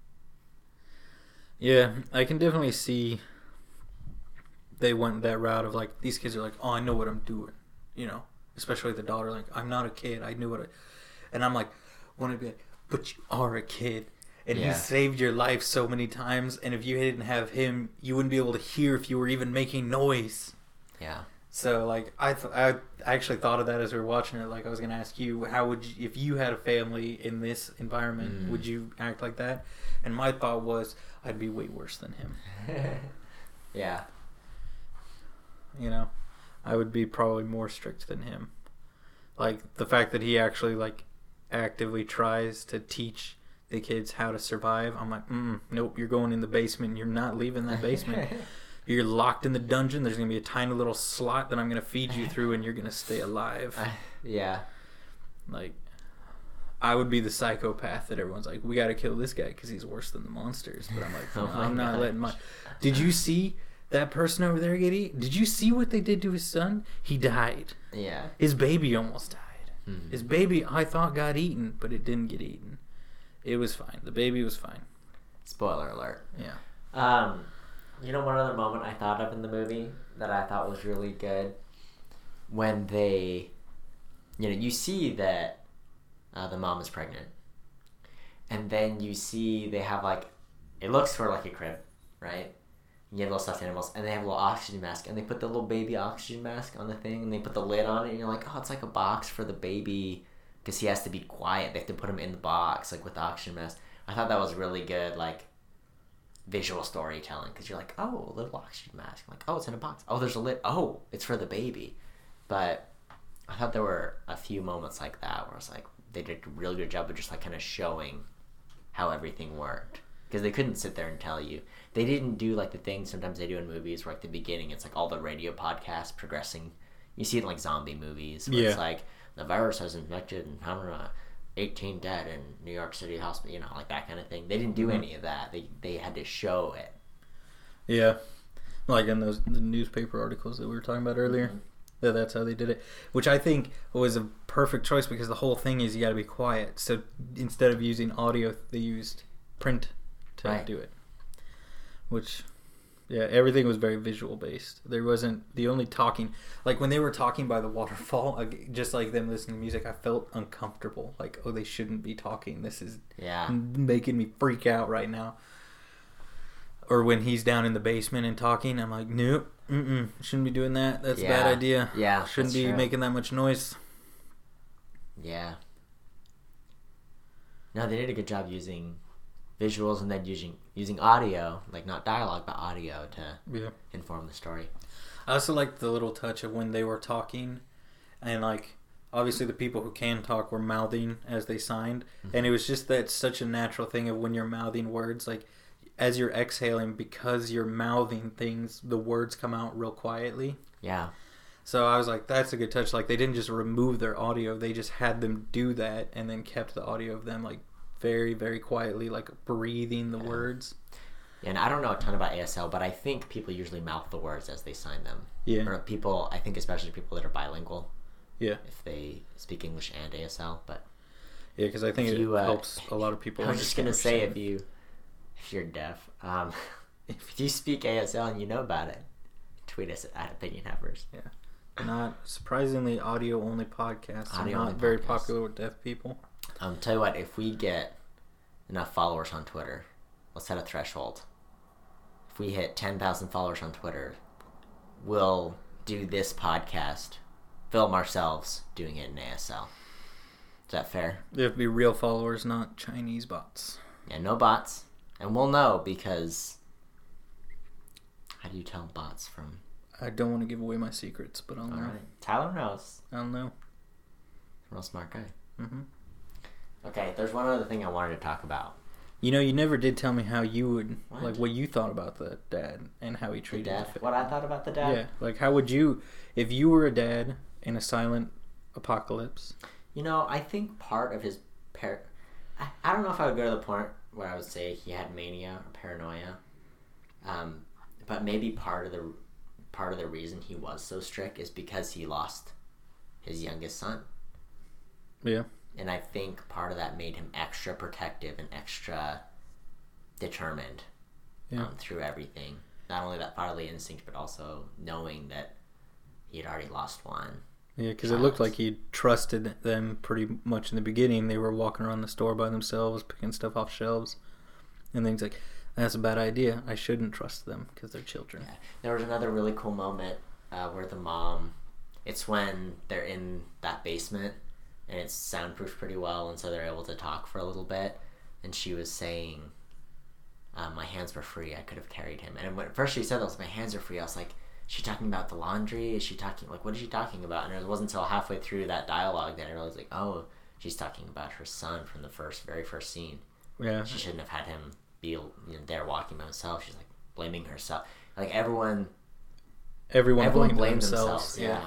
Yeah, I can definitely see they went that route of like, these kids are like, oh, I know what I'm doing, you know, especially the daughter, like, I'm not a kid, I knew what and I'm like, want to be like, but you are a kid, and he saved your life so many times, and if you didn't have him, you wouldn't be able to hear if you were even making noise. Yeah. So like, I actually thought of that as we were watching it. Like, I was gonna ask you, how would you, if you had a family in this environment, would you act like that? And my thought was, I'd be way worse than him. Yeah. You know, I would be probably more strict than him. Like, the fact that he actually, like, actively tries to teach the kids how to survive, I'm like, nope, you're going in the basement. You're not leaving that basement. You're locked in the dungeon. There's going to be a tiny little slot that I'm going to feed you through, and you're going to stay alive. Yeah. Like, I would be the psychopath that everyone's like, we got to kill this guy because he's worse than the monsters. But I'm like, I'm not letting my... Did you see that person over there get eaten? Did you see what they did to his son? He died. Yeah. His baby almost died. His baby, I thought, got eaten, but it didn't get eaten. It was fine. The baby was fine. Spoiler alert. Yeah. You know, one other moment I thought of in the movie that I thought was really good when they, you see that the mom is pregnant, and then you see they have like, it looks sort of like a crib, right? You get little stuffed animals, and they have a little oxygen mask, and they put the little baby oxygen mask on the thing, and they put the lid on it, and you're like, oh, it's like a box for the baby, because he has to be quiet. They have to put him in the box, like with the oxygen mask. I thought that was really good, like, visual storytelling, because you're like, oh, a little oxygen mask. I'm like, oh, it's in a box. Oh, there's a lid. Oh, it's for the baby. But I thought there were a few moments like that where I was like, they did a really good job of just like kind of showing how everything worked, because they couldn't sit there and tell you. They didn't do like the thing sometimes they do in movies where like the beginning it's like all the radio podcasts progressing. You see it in like zombie movies where it's like the virus has infected and 18 dead in New York City hospital, like that kind of thing. They didn't do any of that. They had to show it. Yeah, like in the newspaper articles that we were talking about earlier. Mm-hmm. That's how they did it, which I think was a perfect choice, because the whole thing is you got to be quiet. So instead of using audio, they used print to do it. Which, yeah, everything was very visual based. There wasn't the only talking. Like when they were talking by the waterfall, just like them listening to music, I felt uncomfortable. Like, oh, they shouldn't be talking. This is making me freak out right now. Or when he's down in the basement and talking, I'm like, nope, shouldn't be doing that. That's a bad idea. Yeah, shouldn't be making that much noise. Yeah. No, they did a good job using visuals and then using audio, like not dialogue, but audio to inform the story. I also liked the little touch of when they were talking, and like obviously the people who can talk were mouthing as they signed, and it was just that such a natural thing of when you're mouthing words, like as you're exhaling, because you're mouthing things, the words come out real quietly. Yeah. So I was like, that's a good touch. Like they didn't just remove their audio, they just had them do that and then kept the audio of them like very, very quietly, like breathing the words. And I don't know a ton about ASL, but I think people usually mouth the words as they sign them. Yeah. Or people, I think especially people that are bilingual. Yeah. If they speak English and ASL, but yeah, because I think it helps a lot of people. I was just gonna say, if you're deaf, if you speak ASL and you know about it, tweet us at Opinion Havers. Yeah. Not surprisingly, audio only podcasts are not very popular with deaf people. Tell you what, if we get enough followers on Twitter, let's set a threshold. If we hit 10,000 followers on Twitter, we'll do this podcast, film ourselves doing it in ASL. Is that fair? It'll be real followers, not Chinese bots. Yeah, no bots. And we'll know, because how do you tell bots from... I don't want to give away my secrets, but I'll know. Alright. Tyler knows. I'll know. Real smart guy. Mm-hmm. Okay, there's one other thing I wanted to talk about. You know, you never did tell me how you would, like, what you thought about the dad and how he treated the dad. What I thought about the dad? Yeah, like, how would you, if you were a dad in a silent apocalypse? You know, I think part of his I don't know if I would go to the point where I would say he had mania or paranoia, but maybe part of the reason he was so strict is because he lost his youngest son. Yeah. And I think part of that made him extra protective and extra determined through everything. Not only that fatherly instinct, but also knowing that he had already lost one. Yeah, because it looked like he trusted them pretty much in the beginning. They were walking around the store by themselves, picking stuff off shelves. And then he's like, that's a bad idea. I shouldn't trust them because they're children. Yeah. There was another really cool moment where the mom, it's when they're in that basement and it's soundproofed pretty well, and so they're able to talk for a little bit. And she was saying, my hands were free. I could have carried him. And when first she said that, my hands are free, I was like, is she talking about the laundry? Is she talking, like, what is she talking about? And it wasn't until halfway through that dialogue that I realized, like, oh, she's talking about her son from the very first scene. Yeah. She shouldn't have had him be there walking by himself. She's, like, blaming herself. Like, everyone blamed themselves. Yeah.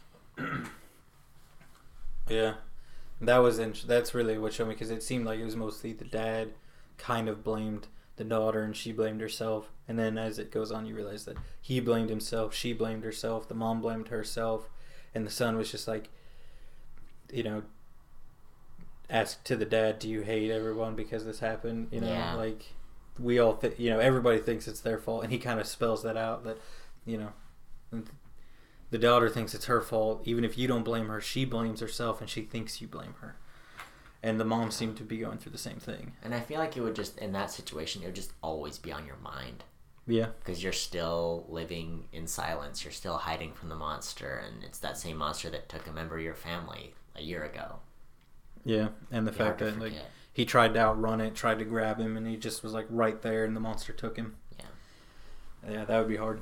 Yeah. That's really what showed me, because it seemed like it was mostly the dad kind of blamed the daughter and she blamed herself, and then as it goes on you realize that he blamed himself, she blamed herself, the mom blamed herself, and the son was just like, you know, asked to the dad, do you hate everyone because this happened? You know, like we all everybody thinks it's their fault, and he kind of spells that out, that, you know, the daughter thinks it's her fault. Even if you don't blame her, she blames herself and she thinks you blame her. And the mom seemed to be going through the same thing. And I feel like it would just, in that situation, it would just always be on your mind. Yeah. Because you're still living in silence. You're still hiding from the monster. And it's that same monster that took a member of your family a year ago. Yeah. And the fact that like he tried to outrun it, tried to grab him, and he just was like right there and the monster took him. Yeah. Yeah, that would be hard.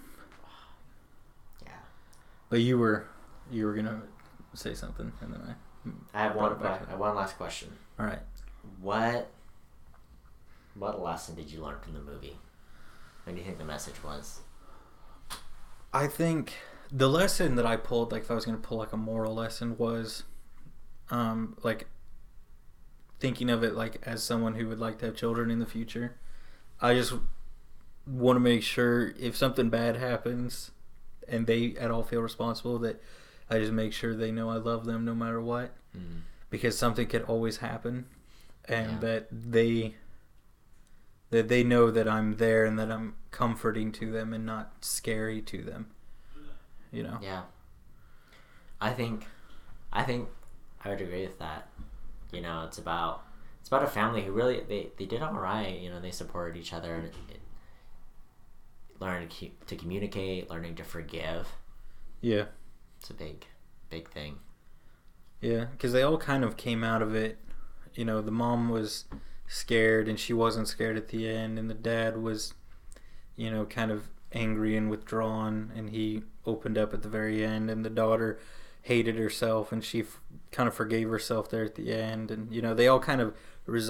Yeah. But you were going to say something, and then I have one last question. All right. What lesson did you learn from the movie? What do you think the message was? I think the lesson that I pulled, like if I was going to pull like a moral lesson, was like thinking of it like as someone who would like to have children in the future. I just want to make sure if something bad happens and they at all feel responsible, that I just make sure they know I love them no matter what. Mm. Because something could always happen, and that they know that I'm there and that I'm comforting to them and not scary to them. You know? Yeah. I think I would agree with that. You know, it's about a family who really they did all right. You know, they supported each other and learning to communicate, learning to forgive. Yeah. It's a big thing. Yeah, because they all kind of came out of it. You know, the mom was scared and she wasn't scared at the end, and the dad was, you know, kind of angry and withdrawn, and he opened up at the very end, and the daughter hated herself and she kind of forgave herself there at the end. And, you know, they all kind of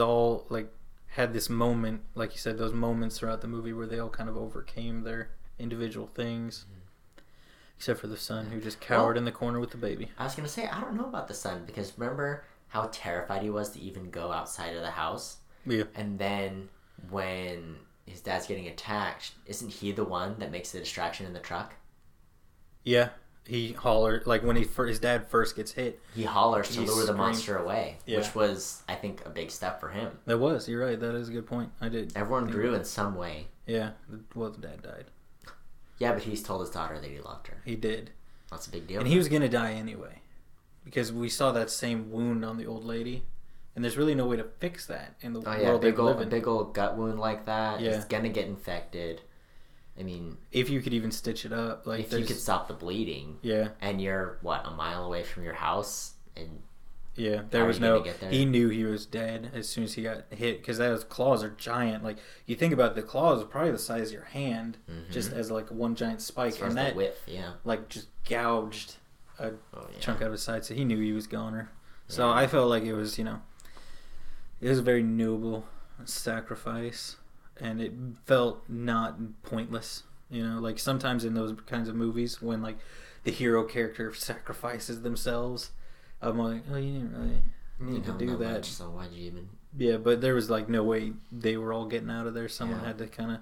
had this moment, like you said, those moments throughout the movie where they all kind of overcame their individual things. Except for the son, who just cowered in the corner with the baby. I was going to say, I don't know about the son, because remember how terrified he was to even go outside of the house? Yeah. And then when his dad's getting attacked, isn't he the one that makes the distraction in the truck? Yeah. He hollered, like when his dad first gets hit. He hollers to lure the monster away, yeah. Which was, I think, a big step for him. That was, you're right, that is a good point. Everyone grew in some way. Yeah, well, the dad died. Yeah, but he's told his daughter that he loved her. He did. That's a big deal. And he was going to die anyway. Because we saw that same wound on the old lady. And there's really no way to fix that in the world they live in. A big old gut wound like that. Yeah. It's going to get infected. I mean... If you could even stitch it up. If you could stop the bleeding. Yeah. And you're, a mile away from your house? And yeah, there was no... He knew he was dead as soon as he got hit. Because those claws are giant. Like, you think about it, the claws are probably the size of your hand. Mm-hmm. Just as, one giant spike. And that, width, yeah. Just gouged a chunk out of his side. So he knew he was goner. Yeah. So I felt like it was, it was a very noble sacrifice. And it felt not pointless. Sometimes in those kinds of movies when, the hero character sacrifices themselves... I'm like, oh, you didn't really need to do that. Much, so why'd you even... Yeah, but there was, no way they were all getting out of there. Someone had to kind of...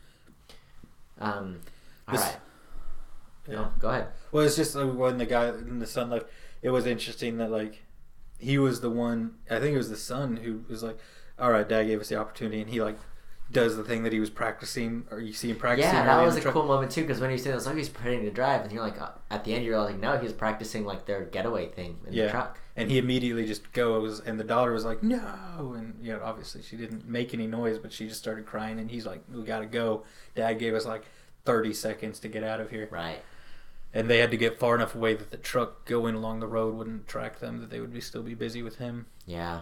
all right. Yeah. No, go ahead. Well, it's just when the son left, it was interesting that, he was the one... I think it was the son who was like, all right, Dad gave us the opportunity, and he, does the thing that he was practicing, or you see him practicing. Yeah, that was a cool moment too, because when he said he's pretending to drive, and you're like, at the end you're like, no, he's practicing their getaway thing in the truck. And he immediately just goes, and the daughter was like, no, and obviously she didn't make any noise, but she just started crying, and he's like, we gotta go. Dad gave us 30 seconds to get out of here. Right. And they had to get far enough away that the truck going along the road wouldn't track them, that they would still be busy with him. Yeah.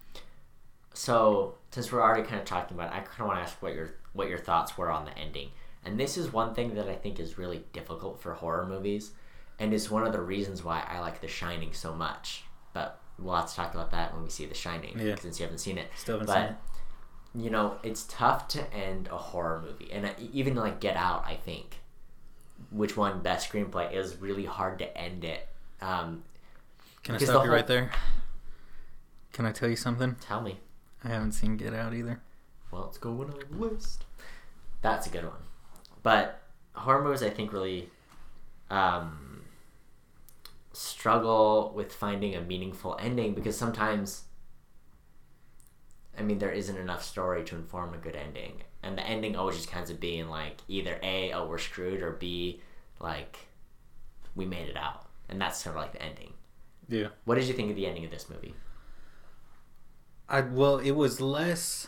So, since we're already kind of talking about it, I kind of want to ask what your thoughts were on the ending. And this is one thing that I think is really difficult for horror movies, and is one of the reasons why I like The Shining so much. But we'll have to talk about that when we see The Shining, since you haven't seen it. Still haven't seen it. It's tough to end a horror movie. And even Get Out, I think, which won Best Screenplay, is really hard to end it. Can I stop you right there? Can I tell you something? Tell me. I haven't seen Get Out either. Well, it's going on the list. That's a good one. But horror movies, I think, really struggle with finding a meaningful ending, because sometimes, there isn't enough story to inform a good ending. And the ending always just kinds of being either A, oh, we're screwed, or B, we made it out, and that's sort of like the ending. Yeah. What did you think of the ending of this movie? Well, it was less.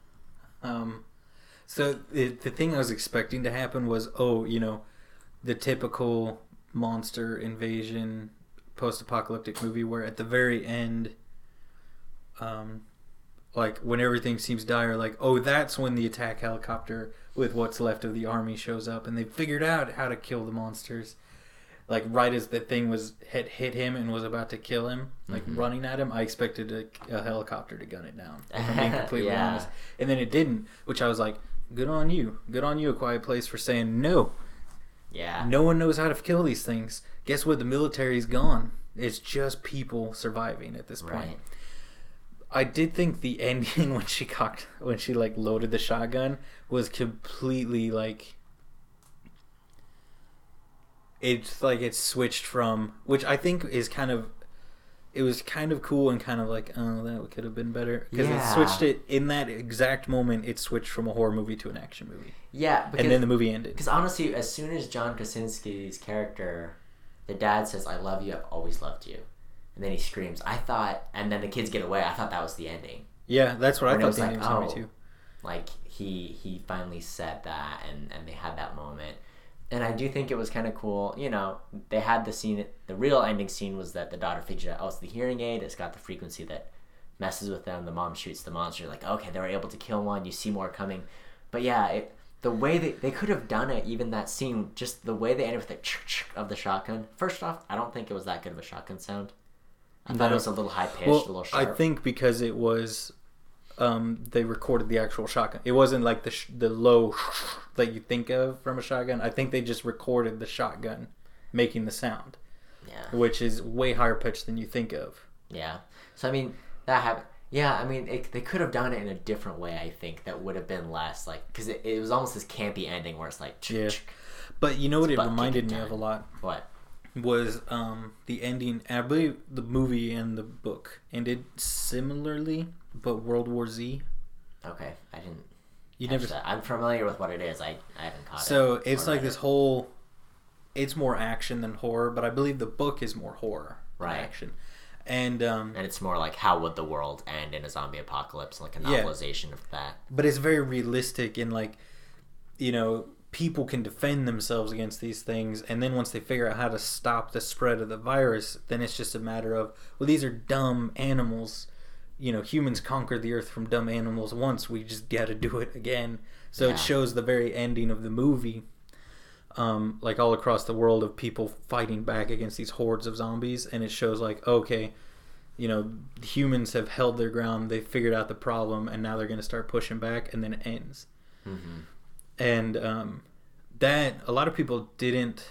So the thing I was expecting to happen was, the typical monster invasion post-apocalyptic movie where at the very end, like when everything seems dire, like, that's when the attack helicopter with what's left of the army shows up and they figured out how to kill the monsters. Like right as the thing had hit him and was about to kill him, like running at him, I expected a helicopter to gun it down. If I'm being completely honest. And then it didn't, which I was like, good on you, A Quiet Place, for saying no. Yeah. No one knows how to kill these things. Guess what? The military's gone. It's just people surviving at this point. Right. I did think the ending when she like loaded the shotgun was completely like. It's like it switched from, which I think is it was kind of cool and kind of like, oh, that could have been better. Because it switched it, in that exact moment, it switched from a horror movie to an action movie. Yeah. Because, and then the movie ended. Because honestly, as soon as John Krasinski's character, the dad says, I love you, I've always loved you. And then he screams, and then the kids get away, I thought that was the ending. Yeah, that's what I thought the ending was going to be too. Like, he finally said that, and they had that moment. And I do think it was kind of cool. They had the scene. The real ending scene was that the daughter figured out, it's the hearing aid. It's got the frequency that messes with them. The mom shoots the monster. Like, okay, they were able to kill one. You see more coming. But yeah, the way they could have done it, even that scene, just the way they ended with the of the shotgun. First off, I don't think it was that good of a shotgun sound. I thought it was a little high-pitched, a little sharp. I think because it was... they recorded the actual shotgun. It wasn't like the low that you think of from a shotgun. I think they just recorded the shotgun making the sound. Yeah. Which is way higher pitched than you think of. Yeah. So, I mean, that happened. Yeah, I mean, they could have done it in a different way, I think, that would have been less, like... Because it was almost this campy ending where it's like... Yeah. But you know what it reminded me of a lot? What? Was the ending... I believe the movie and the book ended similarly... But World War Z. Okay, I didn't. You never. That. I'm familiar with what it is. I haven't caught it. So it's like this whole. It's more action than horror, but I believe the book is more horror than action, and it's more like how would the world end in a zombie apocalypse, like a novelization of that. But it's very realistic in like, people can defend themselves against these things, and then once they figure out how to stop the spread of the virus, then it's just a matter of, well, these are dumb animals. Humans conquered the earth from dumb animals once. We just got to do it again. So it shows the very ending of the movie, like all across the world of people fighting back against these hordes of zombies. And it shows like, okay, humans have held their ground. They figured out the problem, and now they're going to start pushing back. And then it ends. Mm-hmm. And that a lot of people didn't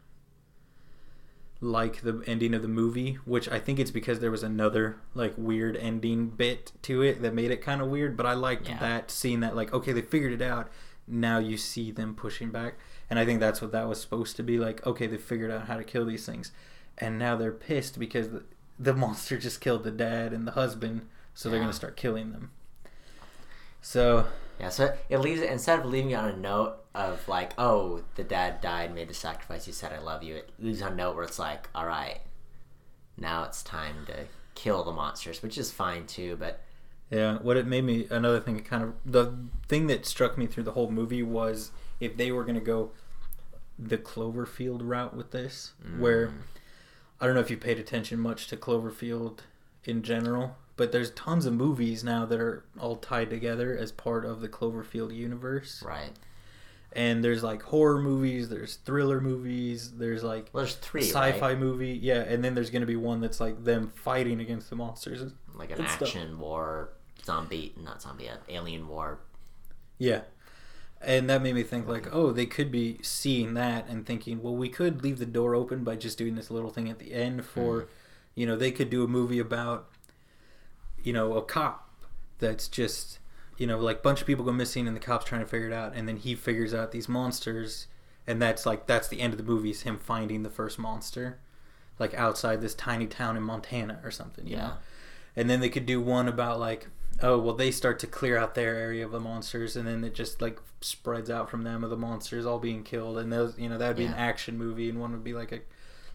like the ending of the movie, which I think it's because there was another like weird ending bit to it that made it kind of weird, but I liked that, seeing that like, okay, they figured it out, now you see them pushing back, and I think that's what that was supposed to be, like, okay, they figured out how to kill these things, and now they're pissed because the monster just killed the dad and the husband, so they're going to start killing them. So it leaves it, instead of leaving it on a note of like, oh, the dad died, made the sacrifice, he said I love you, it leaves on a note where it's like, all right, now it's time to kill the monsters, which is fine too. But what it made me, another thing, the thing that struck me through the whole movie was if they were going to go the Cloverfield route with this, where I don't know if you paid attention much to Cloverfield in general, but there's tons of movies now that are all tied together as part of the Cloverfield universe. Right. And there's like horror movies, there's thriller movies, there's like there's 3 sci-fi movie, and then there's going to be one that's like them fighting against the monsters, like an action war, alien war. Yeah. And that made me think like, oh, they could be seeing that and thinking, well, we could leave the door open by just doing this little thing at the end for, they could do a movie about, a cop that's just, like a bunch of people go missing and the cop's trying to figure it out, and then he figures out these monsters, and that's the end of the movie, is him finding the first monster, like outside this tiny town in Montana or something, you know? And then they could do one about like, oh, well, they start to clear out their area of the monsters, and then it just like spreads out from them of the monsters all being killed, and those, that would be an action movie, and one would be like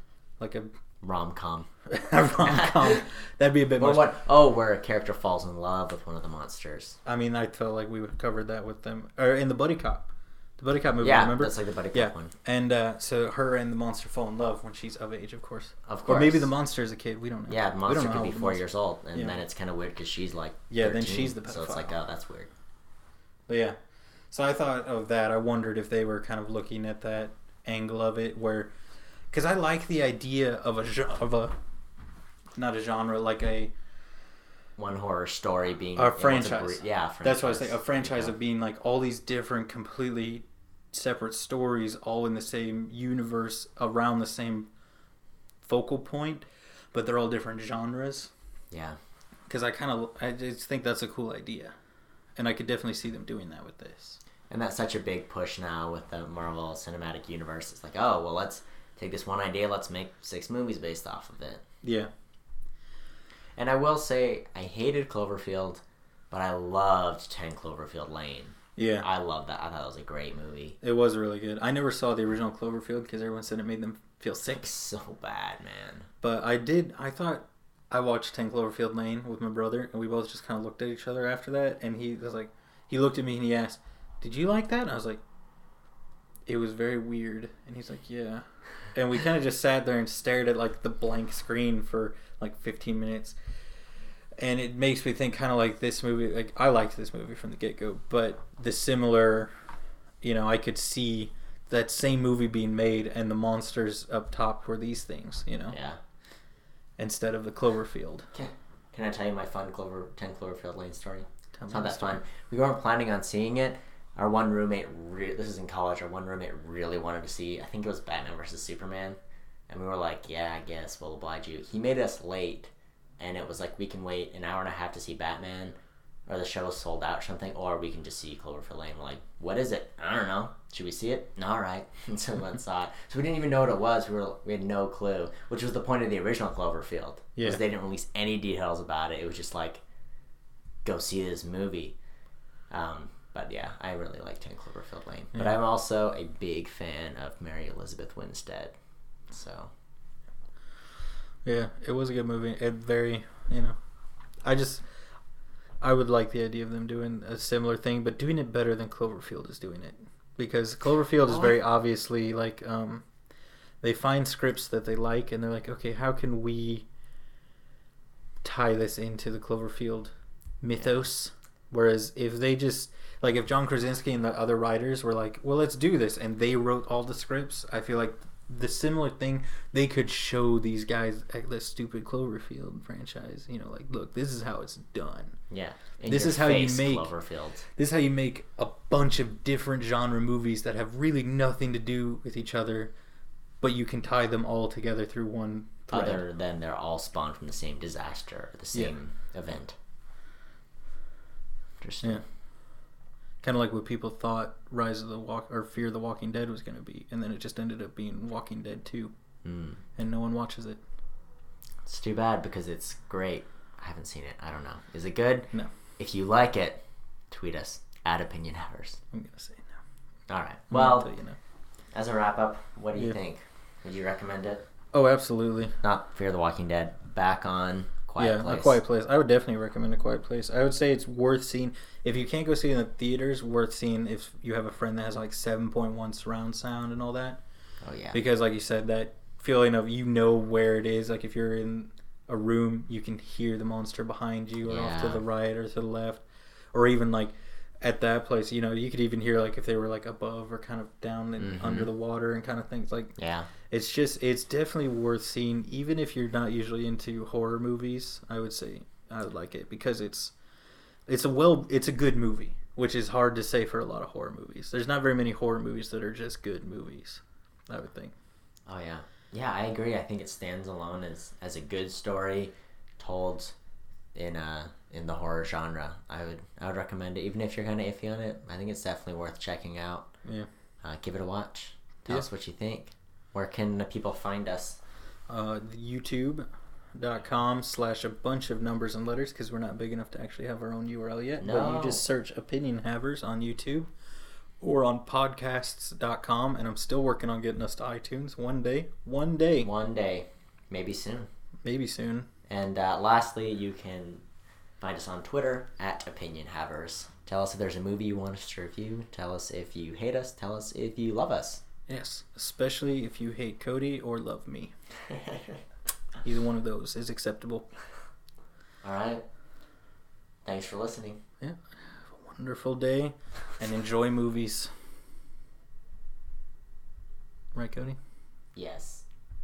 like a rom-com. rom-com. That'd be a bit Or much. what? Oh, where a character falls in love with one of the monsters. I mean, I felt like we covered that with them, or in the Buddy Cop. The Buddy Cop movie, Yeah, remember? that's like the Buddy Cop Yeah, one. and so her and the monster fall in love when she's of age, of course. Of course. Or maybe the monster is a kid. We don't know. Yeah, the We monster don't know could how be old the 4 monster- years old, and Yeah. then it's kind of weird because she's like 13, Yeah, then she's the so it's like, pedophile. oh, that's weird. But yeah, so I thought of that. I wondered if they were kind of looking at that angle of it, where, because I like the idea of a not a genre, like a One horror story being A able to franchise. yeah, franchise. That's what I was saying. A franchise Yeah. of being like all these different, completely separate stories, all in the same universe, around the same focal point, but they're all different genres. Yeah. Because I just think that's a cool idea, and I could definitely see them doing that with this. And that's such a big push now with the Marvel Cinematic Universe. It's like, oh, well, let's take this one idea, let's make 6 movies based off of it. Yeah. And I will say, I hated Cloverfield, but I loved 10 Cloverfield Lane. Yeah. I loved that. I thought it was a great movie. It was really good. I never saw the original Cloverfield because everyone said it made them feel sick. It's so bad, man. But I thought I watched 10 Cloverfield Lane with my brother, and we both just kind of looked at each other after that, and he was like, he looked at me and he asked, "Did you like that?" And I was like, "It was very weird." And he's like, "Yeah." And we kind of just sat there and stared at like the blank screen for like 15 minutes. And it makes me think kind of like this movie, like I liked this movie from the get-go, but the similar, I could see that same movie being made and the monsters up top were these things, Yeah. instead of the Cloverfield. Can I tell you my fun 10 Cloverfield Lane story? Tell It's me not the that story. fun. We weren't planning on seeing it. Our one roommate, this is in college, our one roommate really wanted to see, I think it was Batman vs. Superman. And we were like, yeah, I guess we'll oblige you. He made us late. And it was like, we can wait an hour and a half to see Batman, or the show is sold out or something, or we can just see Cloverfield Lane. We're like, what is it? I don't know. Should we see it? All right. And so we went and saw it. So we didn't even know what it was. We had no clue, which was the point of the original Cloverfield. Yeah. Was they didn't release any details about it. It was just like, go see this movie. But yeah, I really like 10 Cloverfield Lane. But Yeah. I'm also a big fan of Mary Elizabeth Winstead. So... Yeah, it was a good movie. It very, I would like the idea of them doing a similar thing, but doing it better than Cloverfield is doing it. Because Cloverfield is very obviously like, they find scripts that they like, and they're like, okay, how can we tie this into the Cloverfield mythos? Whereas if they just, like if John Krasinski and the other writers were like, well, let's do this, and they wrote all the scripts, I feel like the similar thing, they could show these guys at the stupid Cloverfield franchise, like, look, this is how it's done. Yeah. This is how you make Cloverfield. This is how you make a bunch of different genre movies that have really nothing to do with each other, but you can tie them all together through one thread. Other than they're all spawned from the same disaster or the same event. Interesting. Yeah. Kind of like what people thought Fear the Walking Dead was going to be, and then it just ended up being Walking Dead 2, and no one watches it. It's too bad because it's great. I haven't seen it. I don't know. Is it good? No. If you like it, tweet us at OpinionHavers. I'm going to say no. All right. I'm gonna Well, tell you no. as a wrap up, what do you think? Would you recommend it? Oh, absolutely. Not Fear the Walking Dead. Back on Quiet Place. A Quiet Place. I would definitely recommend A Quiet Place. I would say it's worth seeing. If you can't go see it in the theaters, worth seeing if you have a friend that has like 7.1 surround sound and all that. Oh, yeah. Because like you said, that feeling of where it is. Like if you're in a room, you can hear the monster behind you or off to the right or to the left. Or even like at that place, you could even hear like if they were like above or kind of down and under the water and kind of things. Like, yeah. It's definitely worth seeing, even if you're not usually into horror movies. I would say I would like it because it's a good movie, which is hard to say for a lot of horror movies. There's not very many horror movies that are just good movies, I would think. Oh, yeah. Yeah, I agree. I think it stands alone as a good story told in the horror genre. I would recommend it, even if you're kind of iffy on it. I think it's definitely worth checking out. Yeah. Give it a watch. Tell us what you think. Where can people find us? YouTube.com/a bunch of numbers and letters, because we're not big enough to actually have our own URL yet. No. But you just search Opinion Havers on YouTube, or on podcasts.com. And I'm still working on getting us to iTunes one day. One day. One day. Maybe soon. Maybe soon. And lastly, you can find us on Twitter at OpinionHavers. Tell us if there's a movie you want us to review. Tell us if you hate us. Tell us if you love us. Yes, especially if you hate Cody or love me. Either one of those is acceptable. All right. Thanks for listening. Yeah. Have a wonderful day and enjoy movies. Right, Cody? Yes.